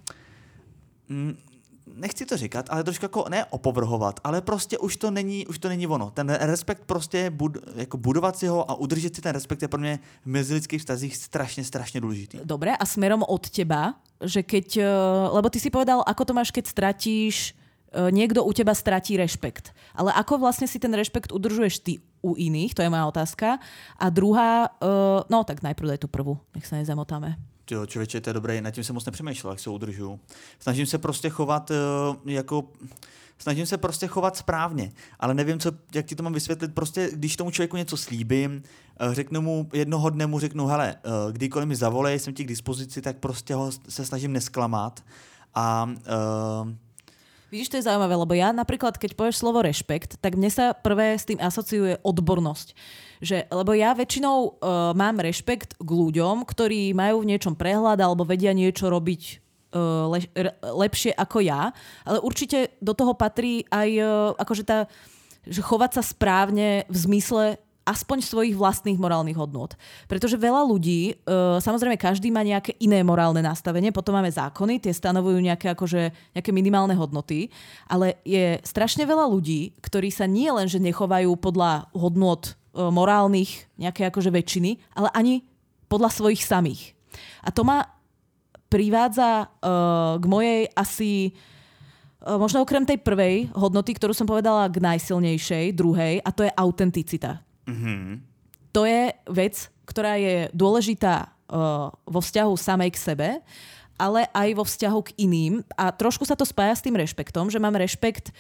mm, nechci to říkat, ale trošku jako ne opovrhovat, ale prostě už to není, už to není ono. Ten respekt prostě, bud, jako budovat si ho a udržet si ten respekt je pro mě v mezilidských vztazích strašně, strašně důležitý. Dobre, a smerom od teba, že keď, lebo ty si povedal, ako to máš, keď stratíš, niekto u teba stratí rešpekt. Ale ako vlastne si ten rešpekt udržuješ ty u iných? To je moja otázka. A druhá, uh, no tak najprv daj tú prvú, nech sa nezamotáme. Jo, člověče, to je dobré, nad tím jsem moc nepřemýšlel, jak se udržuju. Snažím se prostě chovat uh, jako... Snažím se prostě chovat správně, ale nevím, co, jak ti to mám vysvětlit. Prostě, když tomu člověku něco slíbím, řeknu mu, jednoho dne mu řeknu, hele, uh, kdykoliv mi zavolej, jsem ti k dispozici, tak prostě ho se snažím nesklamat. A... Uh, Vidíš, to je zaujímavé, lebo ja napríklad, keď povieš slovo rešpekt, tak mne sa prvé s tým asociuje odbornosť. Že, lebo ja väčšinou uh, mám rešpekt k ľuďom, ktorí majú v niečom prehľad alebo vedia niečo robiť uh, le, lepšie ako ja. Ale určite do toho patrí aj uh, akože tá, že chovať sa správne v zmysle aspoň svojich vlastných morálnych hodnôt. Pretože veľa ľudí, uh, samozrejme každý má nejaké iné morálne nastavenie, potom máme zákony, tie stanovujú nejaké, akože, nejaké minimálne hodnoty, ale je strašne veľa ľudí, ktorí sa nie len, že nechovajú podľa hodnôt uh, morálnych nejaké akože väčšiny, ale ani podľa svojich samých. A to ma privádza uh, k mojej asi uh, možno okrem tej prvej hodnoty, ktorú som povedala, k najsilnejšej, druhej, a to je autenticita. Mm-hmm. To je vec, ktorá je dôležitá uh, vo vzťahu samej k sebe ale aj vo vzťahu k iným. A trošku sa to spája s tým rešpektom, že mám rešpekt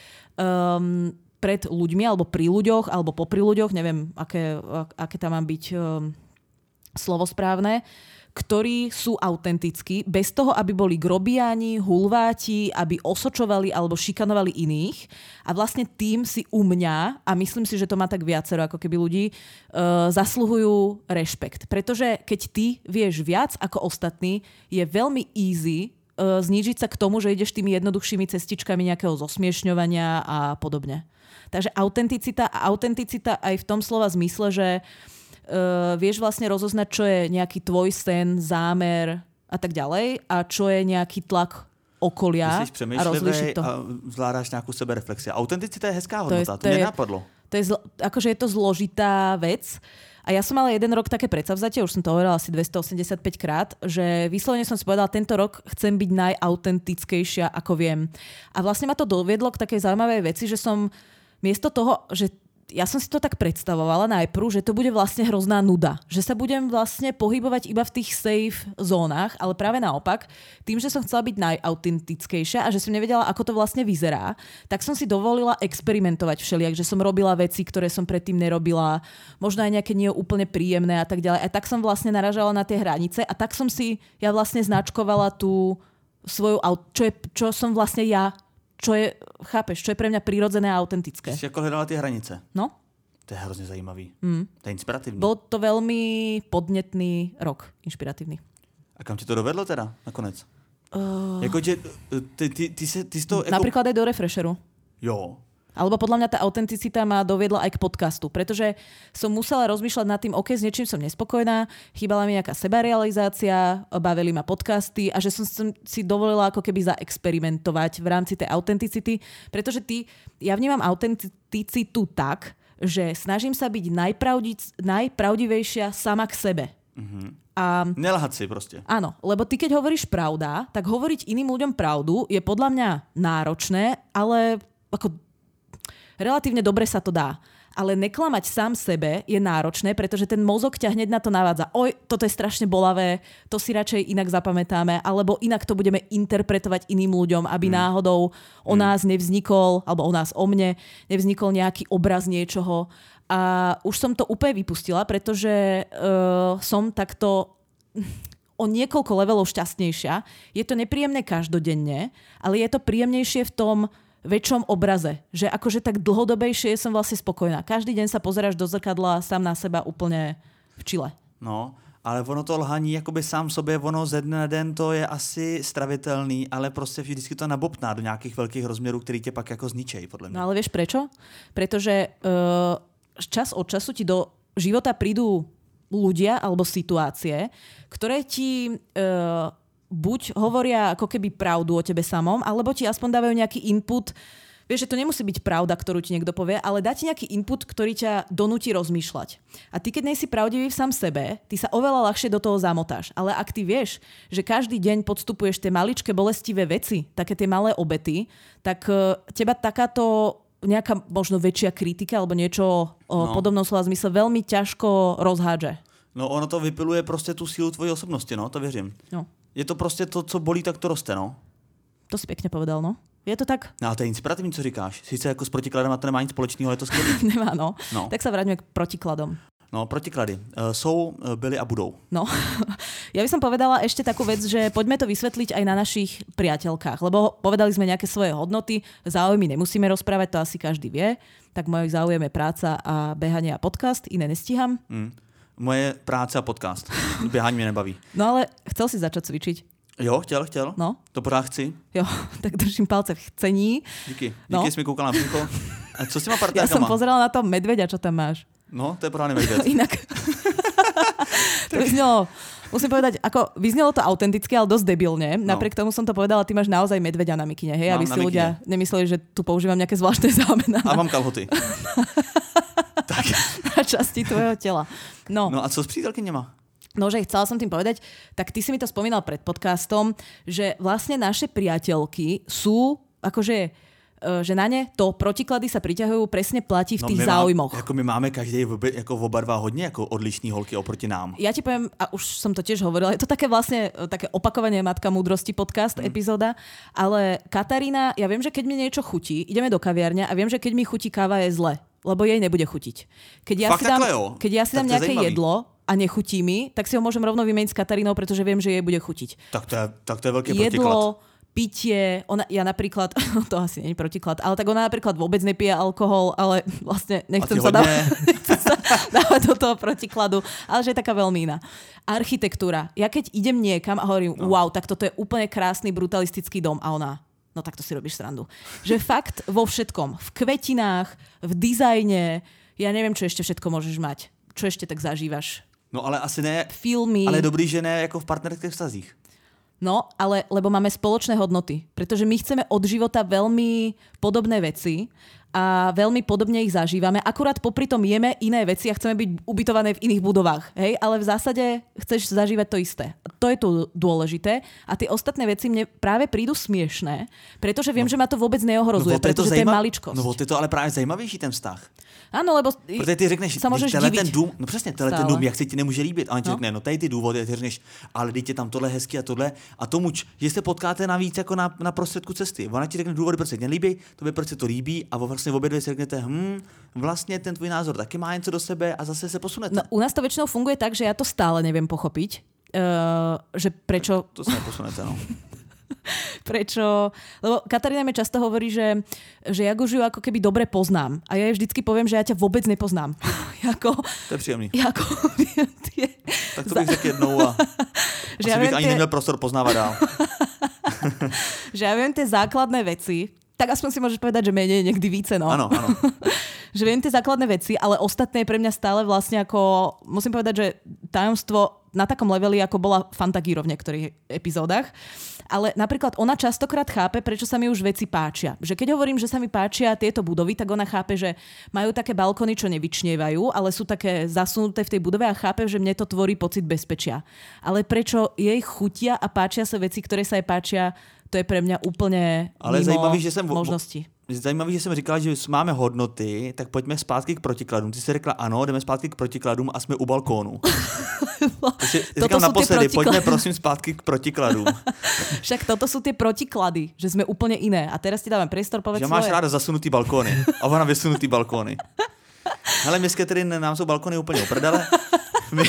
um, pred ľuďmi, alebo pri ľuďoch, alebo popri ľuďoch, neviem, aké, aké tam má byť um, slovo správne, ktorí sú autentickí, bez toho, aby boli grobiáni, hulváti, aby osočovali alebo šikanovali iných. A vlastne tým si u mňa, a myslím si, že to má tak viacero ako keby ľudí, uh, zasluhujú rešpekt. Pretože keď ty vieš viac ako ostatní, je veľmi easy uh, znížiť sa k tomu, že ideš tými jednoduchšími cestičkami nejakého zosmiešňovania a podobne. Takže autenticita a autenticita aj v tom slova zmysle, že Uh, vieš vlastne rozoznať, čo je nejaký tvoj sen, zámer a tak ďalej a čo je nejaký tlak okolia a rozlíšiť to. A zvládáš nejakú sebereflexi. Autenticita je hezká hodnota, to, je, to, to mě napadlo. To je, zl- akože je to zložitá vec. A ja som mala jeden rok také predsavzatie, už som to hovorila asi dvestoosemdesiatpäť krát, že vyslovene som si povedala, tento rok chcem byť najautentickejšia, ako viem. A vlastne ma to doviedlo k takej zaujímavej veci, že som miesto toho, že ja som si to tak predstavovala najprv, že to bude vlastne hrozná nuda. Že sa budem vlastne pohybovať iba v tých safe zónach, ale práve naopak, tým, že som chcela byť najautentickejšia a že som nevedela, ako to vlastne vyzerá, tak som si dovolila experimentovať všelijak, že som robila veci, ktoré som predtým nerobila, možno aj nejaké nie úplne príjemné a tak ďalej. A tak som vlastne naražala na tie hranice a tak som si ja vlastne značkovala tú svoju, čo, je, čo som vlastne ja, čo je, chápeš, čo je pre mňa prirodzené a autentické. Si ako hledala tie hranice. No. To je hrozne zajímavý. Mm. To je inspiratívny. Bol to veľmi podnetný rok, inšpiratívny. A kam ti to dovedlo teda nakonec? Uh... Jako, že, ty, ty, ty, ty, ty to, ako... Napríklad aj do Refresheru. Jo. Alebo podľa mňa tá autenticita ma doviedla aj k podcastu, pretože som musela rozmýšľať nad tým, OK, s niečím som nespokojná, chýbala mi nejaká sebarealizácia, bavili ma podcasty a že som si dovolila ako keby zaexperimentovať v rámci tej autenticity, pretože ty, ja vnímam autenticitu tak, že snažím sa byť najpravdi, najpravdivejšia sama k sebe. Mm-hmm. A nelahať si proste. Áno, lebo ty keď hovoríš pravda, tak hovoriť iným ľuďom pravdu je podľa mňa náročné, ale ako relatívne dobre sa to dá. Ale neklamať sám sebe je náročné, pretože ten mozog ťa hneď na to navádza. Oj, toto je strašne bolavé, to si radšej inak zapamätáme, alebo inak to budeme interpretovať iným ľuďom, aby mm. náhodou o nás nevznikol, alebo o nás, o mne, nevznikol nejaký obraz niečoho. A už som to úplne vypustila, pretože uh, som takto o niekoľko levelov šťastnejšia. Je to nepríjemné každodenne, ale je to príjemnejšie v tom väčšom obraze. Že akože tak dlhodobejšie som vlastne spokojná. Každý deň sa pozeráš do zrkadla sám na seba úplne v čile. No, ale ono to lhaní jakoby sám sobě, ono ze dne na den to je asi stravitelný, ale prostě vždycky to nabobtná do nějakých velkých rozměrů, který tě pak jako zničej, podle mě. No ale vieš prečo? Pretože uh, čas od času ti do života prídu ľudia alebo situácie, ktoré ti uh, buď hovoria ako keby pravdu o tebe samom, alebo ti aspoň dávajú nejaký input. Vieš, že to nemusí byť pravda, ktorú ti niekto povie, ale dá ti nejaký input, ktorý ťa donúti rozmýšľať. A ty, keď nejsi pravdivý v sám sebe, ty sa oveľa ľahšie do toho zamotáš. Ale ak ty vieš, že každý deň podstupuješ tie maličké bolestivé veci, také tie malé obety, tak uh, teba takáto nejaká možno väčšia kritika alebo niečo o no. podobnom slova zmysle veľmi ťažko rozhádže. No ono to vypiluje prostě tu sílu tvojí osobnosti, no, to věřím. No. Je to prostě to, co bolí, tak to roste, no. To si pěkně povedal, no. Je to tak? No a to je inspirativní, co říkáš. Sice jako s protikladem a to nemá nic společného, ale je to skvělé. Nemá, no. no. Tak sa vráťme k protikladom. No, protiklady. Uh, jsou, byli a budou. No, ja by som povedala ešte takú vec, že poďme to vysvetliť aj na našich priateľkách, lebo povedali sme nejaké svoje hodnoty, záujmy nemusíme rozprávať, to asi každý vie, tak mojich záujem je práca a behanie a podcast, iné nestíham. Mm. Moje práce a podcast. Běhání mě nebaví. No ale chcel si začať cvičiť. Jo, chtěl, chtěl. No. To pořád chci. Jo, tak držím palce v chcení. Díky. Díky, no. jsi mi koukal na břicho. A co s těma partnerkama? Ja som pozerala na toho medveďa, čo tam máš. No, to je pořádný medveď. Inak. To vyznelo, musím povedať, ako vyznelo to autenticky, ale dosť debilne. No. Napriek tomu som to povedala, ty máš naozaj medveďa na mikine, hej? Aby si mikine. Ľudia nemysleli, že tu používam nejaké zvláštne zámená. A mám kalhoty. Tak. Na časti tvojho tela. No. No a co s přítelkyněma? No, že chcela som tým povedať, tak ty si mi to spomínal pred podcastom, že vlastne naše priateľky sú akože že na ne to protiklady sa priťahujú, presne platí v no, tých my záujmoch. Má, jako my máme každý jako oba dva hodně jako odlišní holky oproti nám. Ja ti poviem, a už som to tiež hovorila, je to také vlastne také opakovanie Matka múdrosti podcast mm. epizóda, ale Katarína, ja viem, že keď mi niečo chutí, ideme do kaviarne a viem, že keď mi chutí káva je zle, lebo jej nebude chutiť. Keď ja Fakt si dám, takhle, keď ja si dám nejaké jedlo a nechutí mi, tak si ho môžem rovno vymeniť s Katarínou, pretože viem, že jej bude chutiť. Tak to je, tak to je veľký jedlo, protiklad. Pitie, ona, ja napríklad, to asi nie je protiklad, ale tak ona napríklad vôbec nepije alkohol, ale vlastne nechcem sa, dávať, nechcem sa dávať do toho protikladu, ale že je taká veľmi iná. Architektúra. Ja keď idem niekam a hovorím, no. wow, tak toto je úplne krásny brutalistický dom a ona, no tak to si robíš srandu. Že fakt vo všetkom, v kvetinách, v dizajne, ja neviem, čo ešte všetko môžeš mať. Čo ešte tak zažívaš? No ale asi ne, filmy. Ale dobrý, že ne jako v partnerských vztazích. No, ale lebo máme spoločné hodnoty. Pretože my chceme od života veľmi podobné veci a veľmi podobne ich zažívame. Akurát popri tom jeme iné veci a chceme byť ubytované v iných budovách. Hej? Ale v zásade chceš zažívať to isté. To je tu dôležité. A tie ostatné veci mne práve prídu smiešné, pretože viem, no, že ma to vôbec neohrozuje, no, pretože to, zajímav... to je maličkosť. No, to je to ale právě zajímavější ten vztah. Ano, lebo protože ty řekneš, tenhle ten dům, no přesně, tenhle ten dům, jak se ti nemůže líbit. A on ti no. řekne, no tady ty důvody, a ty řekneš, ale teď je tam tohle hezky a tohle. A tomu, že se potkáte navíc jako na, na prostředku cesty. Ona ti řekne důvody, proč se ti nelíbí, tobě proč se to líbí a vlastně v obě dvě si řeknete, hm, vlastně ten tvůj názor taky má něco do sebe a zase se posunete. No, u nás to väčšinou funguje tak, že ja to stále neviem pochopiť. Uh, že prečo... To sa neposunete, no. Prečo? Lebo Katarína mi často hovorí, že, že ja Gužiu ako keby dobre poznám. A ja jej vždycky poviem, že ja ťa vôbec nepoznám. jako, to je příjemný. Jako, tie... Tak to bych řekl jednou a že asi ja bych ani tie... neměl prostor poznávat dál. že ja viem tie základné veci, tak aspoň si môžeš povedať, že menej, niekdy více, no. Áno, áno. Že viem tie základné veci, ale ostatné je pre mňa stále vlastne ako, musím povedať, že tajomstvo na takom leveli, ako bola Fantagiro v niektorých epizódach. Ale napríklad ona častokrát chápe, prečo sa mi už veci páčia. Že keď hovorím, že sa mi páčia tieto budovy, tak ona chápe, že majú také balkóny, čo nevyčnievajú, ale sú také zasunuté v tej budove a chápe, že mne to tvorí pocit bezpečia. Ale prečo jej chutia a páčia sa veci, ktoré sa jej páčia, to je pre mňa úplne ale mimo zajímavý, že jsem možnosti. Zajímavý, že jsem říkal, že máme hodnoty, tak pojďme zpátky k protikladům. Ty jsi řekla ano, jdeme zpátky k protikladům a jsme u balkónu. Takže říkám naposledy, pojďme prosím zpátky k protikladům. Však toto sú tie protiklady, že sme úplne iné. A teraz ti dávam priestor, povedz že svoje. Že máš ráda zasunutý balkóny a ona vysunutý balkóny. Hele, my s Catherine, nám jsou balkóny úplně oprdele. My...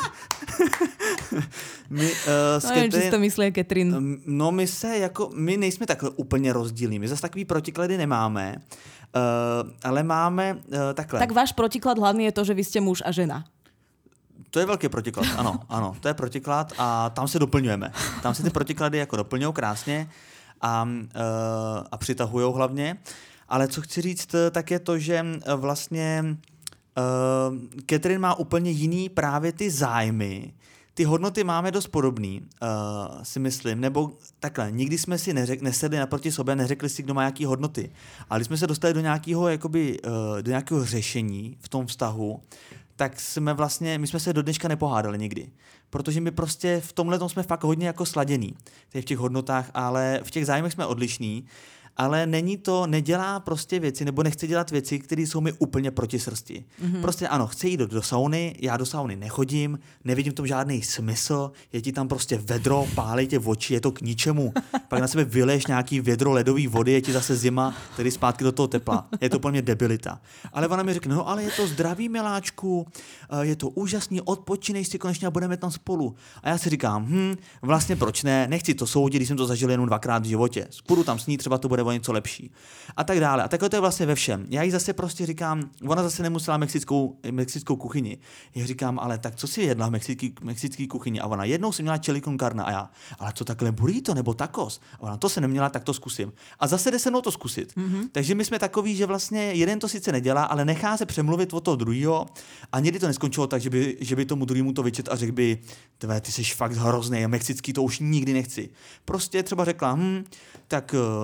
My, uh, no, nevím, či si to myslí Catherine. No my se jako, my nejsme takhle úplně rozdílní, my zase takový protiklady nemáme, uh, ale máme uh, takhle. Tak váš protiklad hlavný je to, že vy ste muž a žena. To je velký protiklad, ano, ano, to je protiklad a tam se doplňujeme. Tam se ty protiklady jako doplňují krásně a, uh, a přitahujou hlavně, ale co chci říct, tak je to, že vlastně uh, Catherine má úplně jiný právě ty zájmy. Ty hodnoty máme dost podobný, uh, si myslím, nebo takhle, nikdy jsme si neřek, nesedli naproti sobě, neřekli si, kdo má jaký hodnoty. Ale když jsme se dostali do nějakého, jakoby, uh, do nějakého řešení v tom vztahu, tak jsme vlastně, my jsme se do dneška nepohádali nikdy. Protože my prostě v tomhle tom jsme fakt hodně jako sladění, v těch hodnotách, ale v těch zájmech jsme odlišní. Ale není to, nedělá prostě věci, nebo nechce dělat věci, které jsou mi úplně proti srsti. Mm-hmm. Prostě ano, chce jít do, do sauny, já do sauny nechodím, nevidím v tom žádný smysl, je ti tam prostě vedro, pálej tě v oči, je to k ničemu. Pak na sebe vyleješ nějaký vědro ledové vody, je ti zase zima, tedy zpátky do toho tepla. Je to úplně debilita. Ale ona mi řekne, no ale je to zdravý, miláčku, je to úžasný, odpočinej si konečně a budeme tam spolu. A já si říkám, hm, vlastně proč ne, nechci to soudit, když jsem to zažil jenom dvakrát v životě. Půjdu tam s ní, třeba to bude o něco lepší. A tak dále. A takhle to je vlastně ve všem. Já jí zase prostě říkám, ona zase nemusela mexickou, mexickou kuchyni. Já říkám, ale tak co si jedla v mexický, mexický kuchyni? A ona jednou si měla chili con carne a já, ale co takhle burrito nebo tacos? A ona to se neměla, tak to zkusím. A zase jde se mnou to zkusit. Mm-hmm. Takže my jsme takový, že vlastně jeden to sice nedělá, ale nechá se přemluvit od toho druhého a někdy to neskončilo tak, že by, že by tomu druhému to vyčet a řekl by, tvé, ty jsi fakt hrozný, mexický to už nikdy nechci. Prostě třeba řekla, hm, tak, tak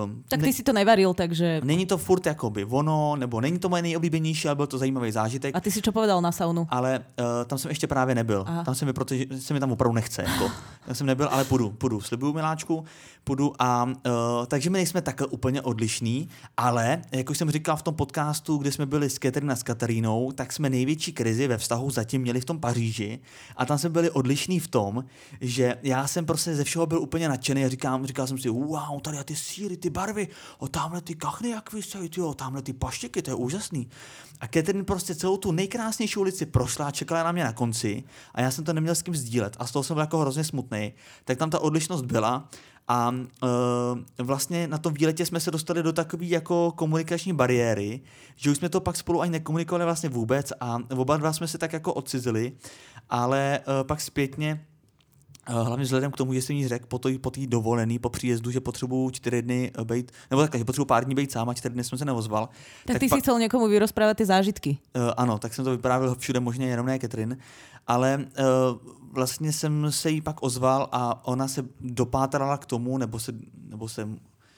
ty si to nevaril, takže... Není to furt jakoby ono, nebo není to moje nejoblíbenější, ale byl to zajímavý zážitek. A ty si čo povedal na saunu? Ale uh, tam jsem ještě právě nebyl. Aha. Tam se mi, protože se mi tam opravdu nechce. Jako. Tam jsem nebyl, ale půjdu, půjdu. Slibuju, miláčku, půjdu. A, uh, takže my nejsme takhle úplně odlišní, ale, jak už jsem říkal v tom podcastu, kde jsme byli s Catherine a s Katarínou, tak jsme největší krizi ve vztahu zatím měli v tom Paříži. A tam jsme byli odlišní v tom, že já jsem prostě ze všeho byl úplně nadšený a říkám, říkal jsem si, wow, tady ty síry, ty barvy, o tamhle ty kachny, jak vysají, tyjo, tamhle ty paštěky, to je úžasný. A Catherine prostě celou tu nejkrásnější ulici prošla a čekala na mě na konci a já jsem to neměl s kým sdílet a z toho jsem byl jako hrozně smutný. Tak tam ta odlišnost byla a uh, vlastně na tom výletě jsme se dostali do takové jako komunikační bariéry, že už jsme to pak spolu ani nekomunikovali vlastně vůbec a oba dva jsme se tak jako odcizili, ale uh, pak zpětně hlavně vzhledem k tomu, že jsem jí řekl po té po dovolený, po příjezdu, že potřebuju čtyři dny být, nebo takhle, že potřebuju pár dní být sám a čtyři dny jsem se neozval. Tak, tak ty pa... si chcel někomu vyrozprávat ty zážitky. Uh, ano, tak jsem to vyprávěl všude možně, jenom ne Catherine, ale uh, vlastně jsem se jí pak ozval a ona se dopátrala k tomu, nebo se, nebo se uh,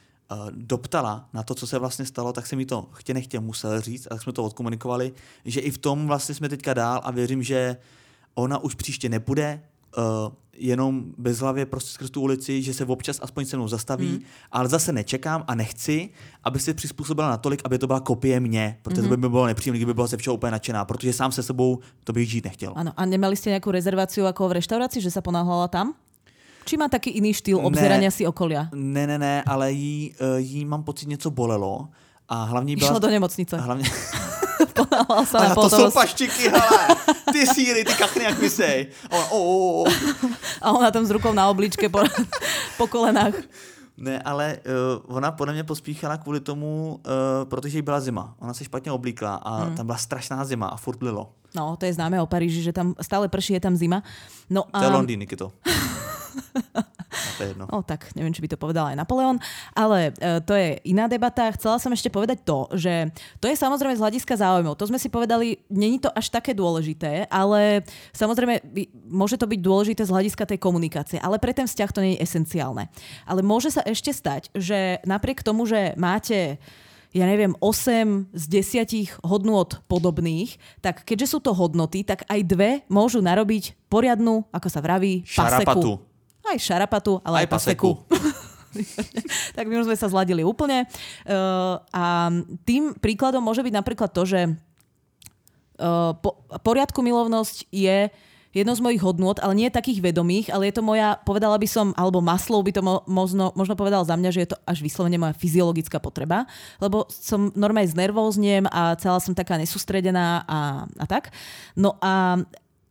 doptala na to, co se vlastně stalo, tak jsem jí to chtě nechtě musel říct a tak jsme to odkomunikovali, že i v tom vlastně jsme teďka dál a věřím, že ona už příště nepůjde Uh, jenom bezhlavě prostě skrz tu ulici, že se občas aspoň se mnou zastaví, mm. ale zase nečekám a nechci, aby se přizpůsobila natolik, aby to byla kopie mě, protože mm-hmm. to by bylo nepříjemné, kdyby byla ze všeho úplně nadšená, protože sám se sebou to bych žít nechtěl. Ano, a nemali jste nějakou rezervaci jako v restauraci, že se ponáhľala tam? Či má taky jiný štýl obzerania si okolia? Ne, ne, ne, ale jí, jí mám pocit něco bolelo a hlavně byla... Išla do nemocnice. Hlavně... Ponáhľal sa na to jsou paštiky, hele, ty síry, ty kachny, jak vysej. Oh, oh, oh. A ona tam s rukou na obličke po, po kolenách. Ne, ale uh, ona podle mě pospíchala kvůli tomu, uh, protože jí byla zima. Ona se špatně oblíkla a hmm. tam byla strašná zima a furt lilo. No, to je známe o Paríži, že tam stále prší, je tam zima. No, to je um... Londýn, Nikito. To je jedno. No tak, neviem, či by to povedal aj Napoleon, ale e, to je iná debata. Chcela som ešte povedať to, že to je samozrejme z hľadiska záujmov. To sme si povedali, není to až také dôležité, ale samozrejme môže to byť dôležité z hľadiska tej komunikácie, ale pre ten vzťah to nie je esenciálne. Ale môže sa ešte stať, že napriek tomu, že máte ja neviem, osem z desiatich hodnôt podobných, tak keďže sú to hodnoty, tak aj dve môžu narobiť poriadnu, ako sa vraví, paseku. Šarapatu. Aj šarapatu, ale aj, aj paseku. paseku. Tak my už sme sa zladili úplne. Uh, a tým príkladom môže byť napríklad to, že uh, po, poriadku milovnosť je jedno z mojich hodnôt, ale nie takých vedomých, ale je to moja, povedala by som, alebo Maslow by to mo- možno, možno povedal za mňa, že je to až vyslovene moja fyziologická potreba, lebo som normálne znervóznem a celá som taká nesústredená a, a tak. No a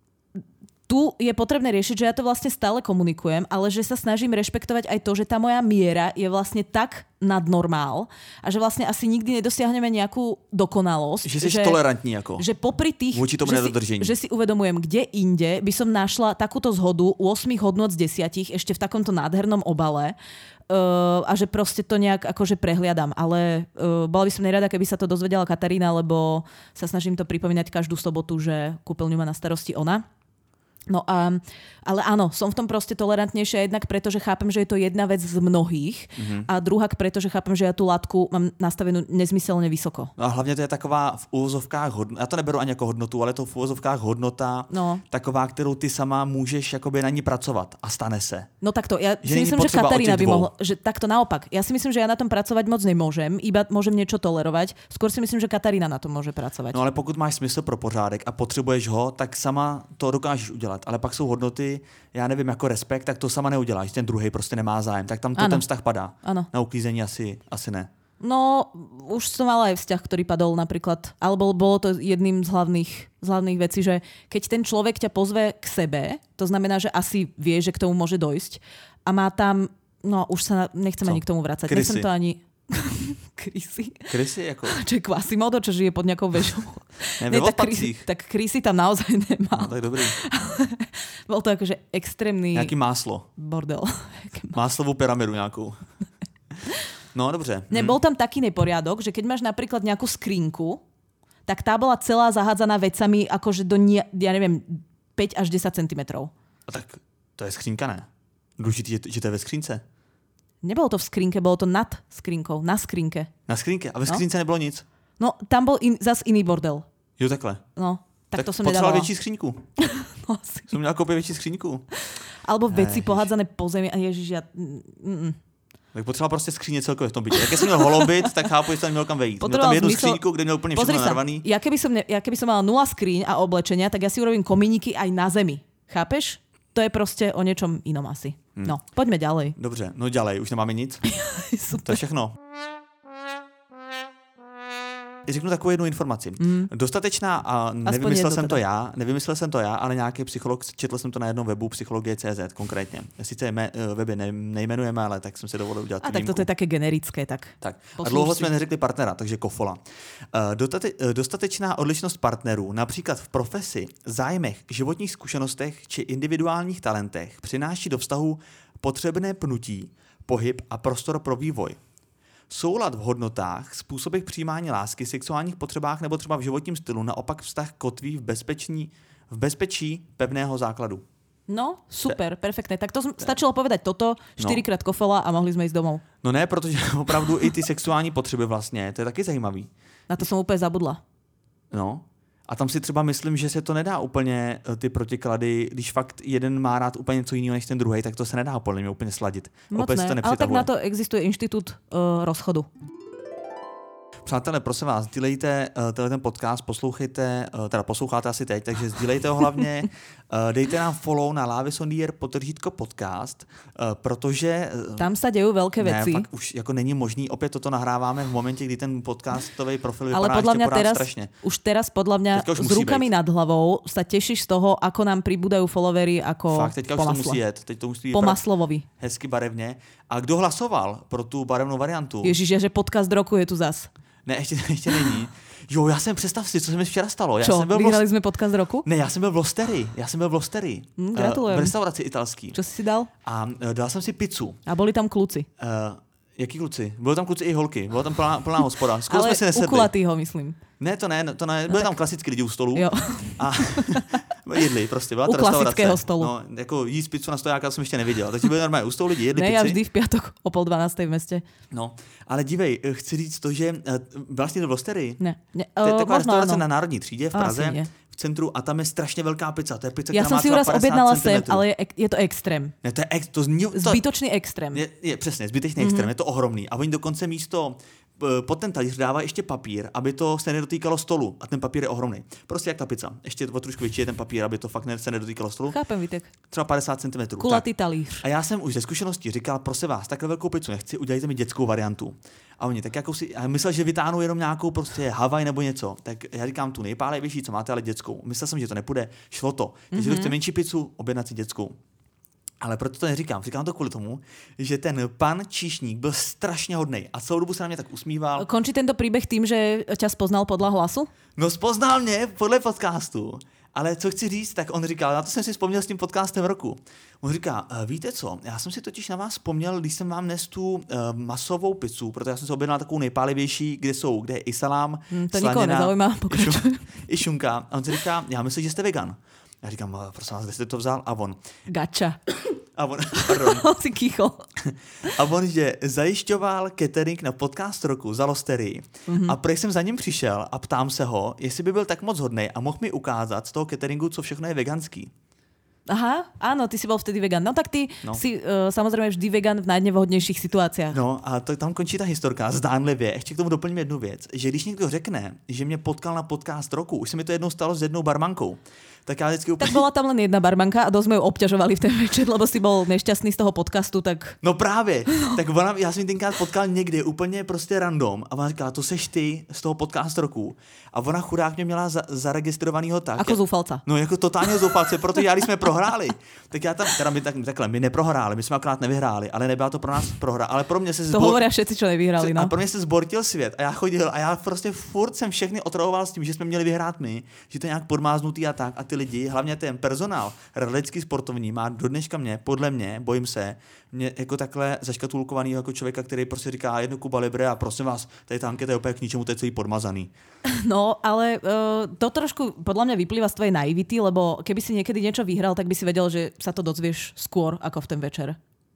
tu je potrebné riešiť, že ja to vlastne stále komunikujem, ale že sa snažím rešpektovať aj to, že tá moja miera je vlastne tak nad normál a že vlastne asi nikdy nedosiahneme nejakú dokonalosť. Že si tolerantní ako. Že popri tých, voči tomu nedodržení. Že si uvedomujem, kde inde by som našla takúto zhodu u osem hodnôt z desiatich ešte v takomto nádhernom obale uh, a že proste to nejak akože prehliadam. Ale uh, bola by som nerada, keby sa to dozvedela Katarína, lebo sa snažím to pripomínať každú sobotu, že kúpeľňu má na starosti ona. No a, ale áno, som v tom proste tolerantnejšia jednak preto, že chápem, že je to jedna vec z mnohých mm-hmm. a druhak preto, že chápem, že ja tú látku mám nastavenú nezmyselne vysoko. No a hlavně to je taková v úvozovkách hodnota, já to neberu ani jako hodnotu, ale to v úvozovkách hodnota, no. taková, kterou ty sama můžeš jakoby na ní pracovat a stane se. No takto, ja že si myslím, že Katarína by mohla, že takto naopak. Ja si myslím, že ja na tom pracovať moc nemôžem, iba môžem niečo tolerovať. Skôr si myslím, že Katarína na tom môže pracovať. No ale pokud máš smysl pro pořádek a potřebuješ ho, tak sama to dokážeš udělat. Ale pak jsou hodnoty, já nevím, jako respekt, tak to sama neuděláš. Ten druhý prostě nemá zájem, tak tam to ano. ten vztah padá. Ano. Na uklízení asi, asi ne. No, už som mala aj vzťah, ktorý padol napríklad, alebo bolo to jedným z hlavných, z hlavných vecí, že keď ten človek ťa pozve k sebe, to znamená, že asi vie, že k tomu môže dojsť a má tam, no už sa nechcem Co? ani k tomu vracať. Krysy. Nechcem to ani... Krysy? Krysy jako? Čo je Quasimodo, čo žije pod nejakou vežou? Ne, ne, tak, krysy, tak Krysy tam naozaj nemá. No, tak dobrý. Bol to akože extrémny... Nějaký máslo. Bordel. Máslovú pyramidu nejakú. No, dobře. Ne, bol tam taký neporiadok, že keď máš napríklad nejakú skrinku, tak tá bola celá zahádzaná vecami akože do, nie, ja neviem, päť až desať centimetrov. A tak to je skřínka, ne? Důležitý, že to je ve skřínce. Nebolo to v skrinke, bolo to nad skrinkou, na skrinke. Na skrinke? A ve skrince no? nebylo nic? No, tam bol in, zas iný bordel. Jo, takhle. No, tak, tak to som nedávala. nedávala. Větší skříňku. No, asi. Som měla koupit větší skříňku. Alebo veci pohádzané po zemi. A ježiš, ja... Mm-mm. Tak potřeboval prostě skříně celkově v tom bytě. Jak jsem měl holobit, tak chápu, že jsem měl kam vejít. Měl tam jednu zmysel... skříňku, kde měl úplně všechno narvaný. Ja keby, som ne, ja keby som mala nula skríň a oblečenia, tak ja si urobím komíniky aj na zemi. Chápeš? To je prostě o něčom inom asi. Hmm. No, pojďme ďalej. Dobře, no ďalej, už nemáme nic. To je všechno. Řeknu takovou jednu informaci. Mm. Dostatečná, a nevymyslel jsem to já, nevymyslel jsem to já, ale nějaký psycholog, četl jsem to na jednom webu, psychologie tečka cé zet konkrétně. Sice jme, weby ne, nejmenujeme, ale tak jsem si dovolil udělat A tak toto je také generické, tak. tak. A dlouho jsme neřekli partnera, takže kofola. Dotate, dostatečná odlišnost partnerů, například v profesi, zájmech, životních zkušenostech či individuálních talentech, přináší do vztahu potřebné pnutí, pohyb a prostor pro vývoj. Soulad v hodnotách, způsobech přijímání lásky, sexuálních potřebách nebo třeba v životním stylu naopak vztah kotví v, bezpeční, v bezpečí pevného základu. No, super, perfektné. Tak to stačilo povedať toto, štyrikrát kofola a mohli sme ísť domov. No ne, protože opravdu i ty sexuální potřeby vlastně, to je taky zajímavý. Na to jsem úplně zabudla. No. A tam si třeba myslím, že se to nedá úplně ty protiklady, když fakt jeden má rád úplně něco jiného než ten druhý, tak to se nedá podle mě úplně sladit. Moc ne, ale tak na to existuje institut uh, rozchodu. Přátelé, prosím vás, sdílejte uh, tenhle ten podcast, poslouchejte, uh, teda posloucháte asi teď, takže sdílejte ho hlavně, uh, dejte nám follow na Lávis on the air podtržítko podcast, uh, protože... Uh, Tam se dějí velké věci. Ne, fakt už jako není možný, opět toto nahráváme v momentě, kdy ten podcastový profil vypadá ale podľa ještě mňa pořád teraz, strašně. Už teraz podľa mňa s rukami být. Nad hlavou sa tešíš z toho, ako nám pribúdajú followery ako fakt, teďka po už masle. to musí jet. Teď to musí po Maslovovi. Hezky barevně. A kdo hlasoval pro tu barevnou variantu? Ježiš, že podcast roku je tu zas. Ne, ještě, ještě není. Jo, já jsem, představ si, co se mi včera stalo. Já Čo, jsem byl vyhrali v... jsme podcast roku? Ne, já jsem byl v Losterii. Já jsem byl v Losterii. Mm, gratulujem. Uh, v restauraci italský. Čo jsi si dal? A uh, dal jsem si pizzu. A byli tam kluci. Uh, jaký kluci? Byli tam kluci i holky. Byla tam plná, plná hospoda. Skoro jsme si nesedli. Ale u kulatýho, myslím. Ne, to ne, to ne. Byli no, tam klasicky lidi u stolu. Jo. A jedli prostě. Byla u ta restaurace. klasického stolu. No, jako jíst pizzu na stojáka jsem ještě neviděl. Takže byli normálně u stolu lidi, jedli ne, pici. já vždy v pátek o pol dvanácté v městě. No, ale dívej, chci říct to, že vlastně v Losterii. Ne. ne to je taková možno, restaurace ano. na Národní třídě v Praze, v centru a tam je strašně velká pizza. To je pizza, já která jsem si uraz objednala sem, ale je, je to extrém. Ne, to je ex, to zní, to, zbytočný extrém. Je, je přesně, zbytečný mm-hmm. extrém, je to ohromný. A oni dokonce místo pod ten talíř dává ještě papír, aby to se nedotýkalo stolu. A ten papír je ohromný. Prostě jak ta pizza. Ještě o trošku větší je ten papír, aby to fakt se nedotýkalo stolu. Chápem, Vítek. Třeba padesát centimetrů. Kulatý talíř. A já jsem už ze zkušeností říkal, prosím vás, takhle velkou pizzu nechci, udělejte mi dětskou variantu. A oni tak jako si, já myslel, že vytáhnou jenom nějakou prostě Havaj nebo něco. Tak já říkám tu nejpálevější, co máte, ale dětskou. Myslel jsem, že to nepůjde, šlo to. Takže mm-hmm. kdo chce menší pizzu, objednat si dětskou. Ale proto to neříkám. Říkám to kvůli tomu, že ten pan číšník byl strašně hodnej a celou dobu se na mě tak usmíval. Končí tento příběh tím, že tě spoznal podle hlasu? No spoznal mě podle podcastu. Ale co chci říct, tak on říkal, na to jsem si vzpomněl s tím podcastem roku. On říká, víte co, já jsem si totiž na vás vzpomněl, když jsem vám nes tu uh, masovou pizzu, protože já jsem si objednal takovou nejpálivější, kde jsou, kde je i salám, hmm, to nikoho nezaujímá, pokračuj. I šunka. A on si říká, já myslím, že jste vegan. Já říkám, prosím vás, kde jste to vzal? A on. Gača. A on, pardon. On si kýchol. A on, že zajišťoval catering na podcast roku za Losterii. Mm-hmm. A prej jsem za ním přišel a ptám se ho, jestli by byl tak moc hodnej a mohl mi ukázat z toho cateringu, co všechno je veganský. Aha, áno, ty si bol vtedy vegan. No tak ty no. si uh, samozrejme vždy vegan v najnevhodnějších situáciách. No a to, tam končí ta historka, zdánlivě. Ještě k tomu doplním jednu věc, že když někdo řekne, že mě potkal na podcast roku, už se mi to jednou stalo s jednou barmankou, tak já vždycky úplně... Tak bola tam len jedna barmanka a dosť sme ju obťažovali v ten večer, lebo si bol nešťastný z toho podcastu, tak... No právě, tak ona, já jsem ji tenkrát potkal někdy úplně prostě random a ona říkala, to seš ty z toho podcast roku. A ona chudák mě měla za, zaregistrovanýho tak. Ako zoufalca. No jako totálně zoufalce, protože já, když jsme prohráli, tak já tam, teda my tak, takhle, my neprohráli, my jsme akorát nevyhráli, ale nebyla to pro nás prohra, ale pro mě se zbor... To hovoria všetci, čo nevyhráli, no. A pro mě se zbortil svět a já chodil a já prostě furt jsem všechny otravoval s tím, že jsme měli vyhrát my, že to je nějak podmáznutý a tak a ty lidi, hlavně ten personál, radlický sportovní, má do dneška mě, podle mě, bojím se, mě jako takhle zaškatulkovaný jako člověka, který prostě říká jednu Kuba Libre a prosím vás, tady ta anketa je úplně k ničemu, to je celý podmazaný. No, ale uh, to trošku podľa mňa vyplýva z tvojej naivity, lebo keby si niekedy niečo vyhral, tak by si vedel, že sa to dozvieš skôr ako v ten večer.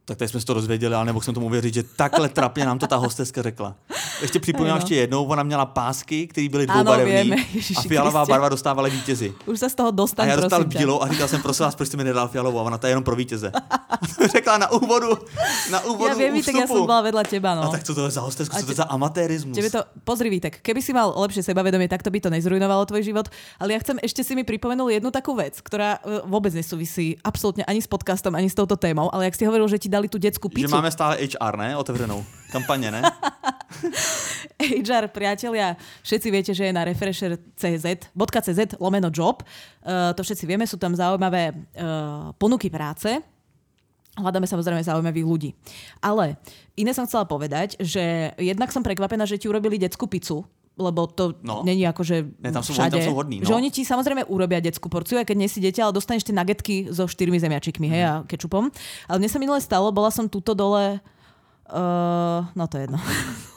Tak tady jsme si to dozvěděli, ale nemohl jsem tomu věřit, že takhle trapně nám to ta hosteska řekla. Ještě připomínám ještě jednou, ona měla pásky, které byly dvoubarevné a fialová Kristě. Barva dostávala vítězi. Už se z toho dostal, a já dostal bílou a říkal jsem, prosím vás, proč jste mi nedal fialovou, a ona to je jenom pro vítěze. To řekla na úvodu, na úvodu ja viem, ústupu. Tak ja som bola vedľa teba, no. A tak co to je za hostesku, co to je za amatérizmus? Tebe to, pozri, Vítek, keby si mal lepšie sebavedomie, tak to by to nezrujnovalo tvoj život, ale ja chcem, ešte si mi pripomenul jednu takú vec, ktorá vôbec nesúvisí absolútne ani s podcastom, ani s touto témou, ale jak si hovoril, že ti dali tú detskú pizzu. Že máme stále há er, ne? Otevřenou. Kampaně, ne? há er, priatelia, všetci viete, že je na refresher.cz lomeno job. Uh, to všetci vieme, sú tam zaujímavé uh, ponuky práce. Hľadáme samozrejme zaujímavých ľudí. Ale iné som chcela povedať, že jednak som prekvapená, že ti urobili detskú pizzu, lebo to no. není ako, že ne, tam sú, všade. Tam sú hodní, no. Že oni ti samozrejme urobia detskú porciu, aj keď nie si dieťa, ale dostaneš tie nagetky so štyrmi zemiačikmi, hej, a kečupom. Ale mne sa minule stalo, bola som tuto dole, uh, no to je jedno.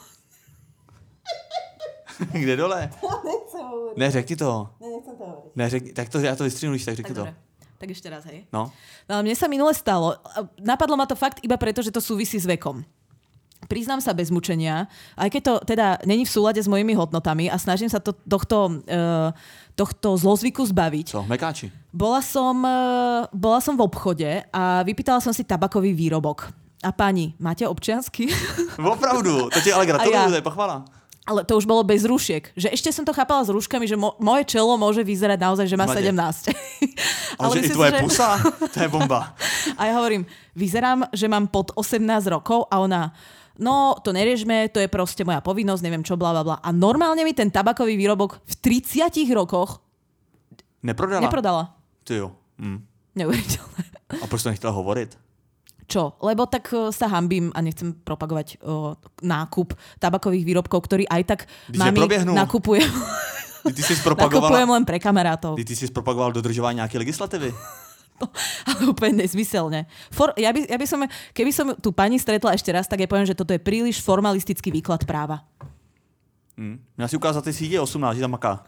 Kde dole? Ne, řekni to. Ne, nechcem to hovoriť. Ne, řekni, tak to, ja to vystřihnu, tak řekni tak to. Dobre. Tak ešte raz, hej. No. No ale mne sa minule stalo, napadlo ma to fakt iba preto, že to súvisí s vekom. Priznám sa bez mučenia, aj keď to teda není v súlade s mojimi hodnotami a snažím sa to, tohto, uh, tohto zlozvyku zbaviť. Co, mekáči? Bola som, uh, bola som v obchode a vypýtala som si tabakový výrobok. A pani, máte občiansky? Opravdu, to ti ale gratuluju, ja. To je pochvala. Ale to už bolo bez rúšiek. Že ešte som to chápala s rúškami, že mo- moje čelo môže vyzerať naozaj, že má Mladě. sedemnásť. Ale že i tvoje že... pusa? To je bomba. A ja hovorím, vyzerám, že mám pod osemnásť rokov a ona, no to neriežme, to je proste moja povinnosť, neviem čo, bla, bla, bla. A normálne mi ten tabakový výrobok v tridsiatich rokoch neprodala. neprodala. Ty jo. Hm. Neuveriteľné. A proč to nechtěla hovorit? Čo? Lebo tak sa hanbím a nechcem propagovať o, nákup tabakových výrobkov, ktorý aj tak Když mami nakupujem. Ty si spropagovala... Nakupujem len pre kamarátov. Ty si spropagoval dodržování nějaké legislativy. No, ale úplne nezmyselne. For, ja, by, ja by som, keby som tú pani stretla ešte raz, tak ja poviem, že toto je príliš formalistický výklad práva. Hmm. Měla si ukázat, ty si je osemnáct, že tam maká.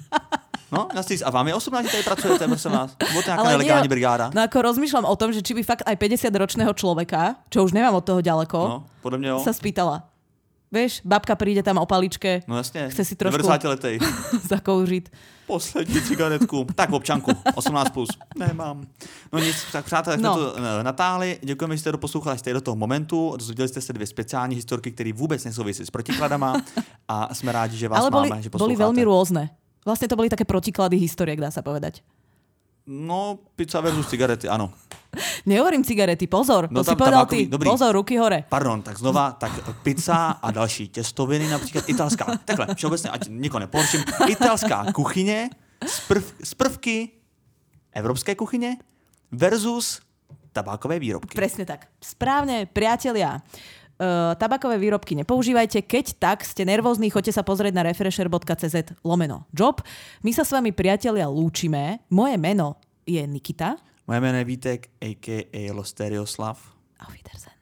No, a vám je osemnáct, tady pracujete, prosím vás. Bylo to nejaká nelegální brigáda. No ako rozmýšľam o tom, že či by fakt aj päťdesiatročného človeka, čo už nemám od toho ďaleko, no, podľa mňa jo. sa spýtala. Vieš, babka príde tam o paličke, no jasne, chce si trošku devadesátletej zakouřit. Poslední cigaretku. Tak občanku, osmnáct plus. Nemám. No nic, tak přátelé, jsme no. to natáhli. Děkujeme, že jste to poslouchali, jste do toho momentu. Dozvěděli jste se dvě speciální historky, které vůbec nesouvisí s protikladama a jsme rádi, že vás ale boli, máme, že posloucháte. Boli veľmi rôzne. Vlastne to boli také protiklady historiek, dá sa povedať. No, pizza versus cigarety, ano. Nehovorím cigarety, pozor. No, to si povedal ty. Dobrý. Pozor, ruky hore. Pardon, tak znova, tak pizza a další těstoviny, například italská. Takhle, všeobecně, ať nikoho nepohorším. Italská kuchyně z, prv, z prvky evropské kuchyně versus tabákové výrobky. Presne tak. Správne, priatelia. Uh, tabakové výrobky nepoužívajte, keď tak ste nervózni, choďte sa pozrieť na refresher.cz lomeno job. My sa s vami, priatelia, lúčime. Moje meno je Nikita. Moje meno je Vítek, a ká a. Losterioslav. Auf Wiedersehen.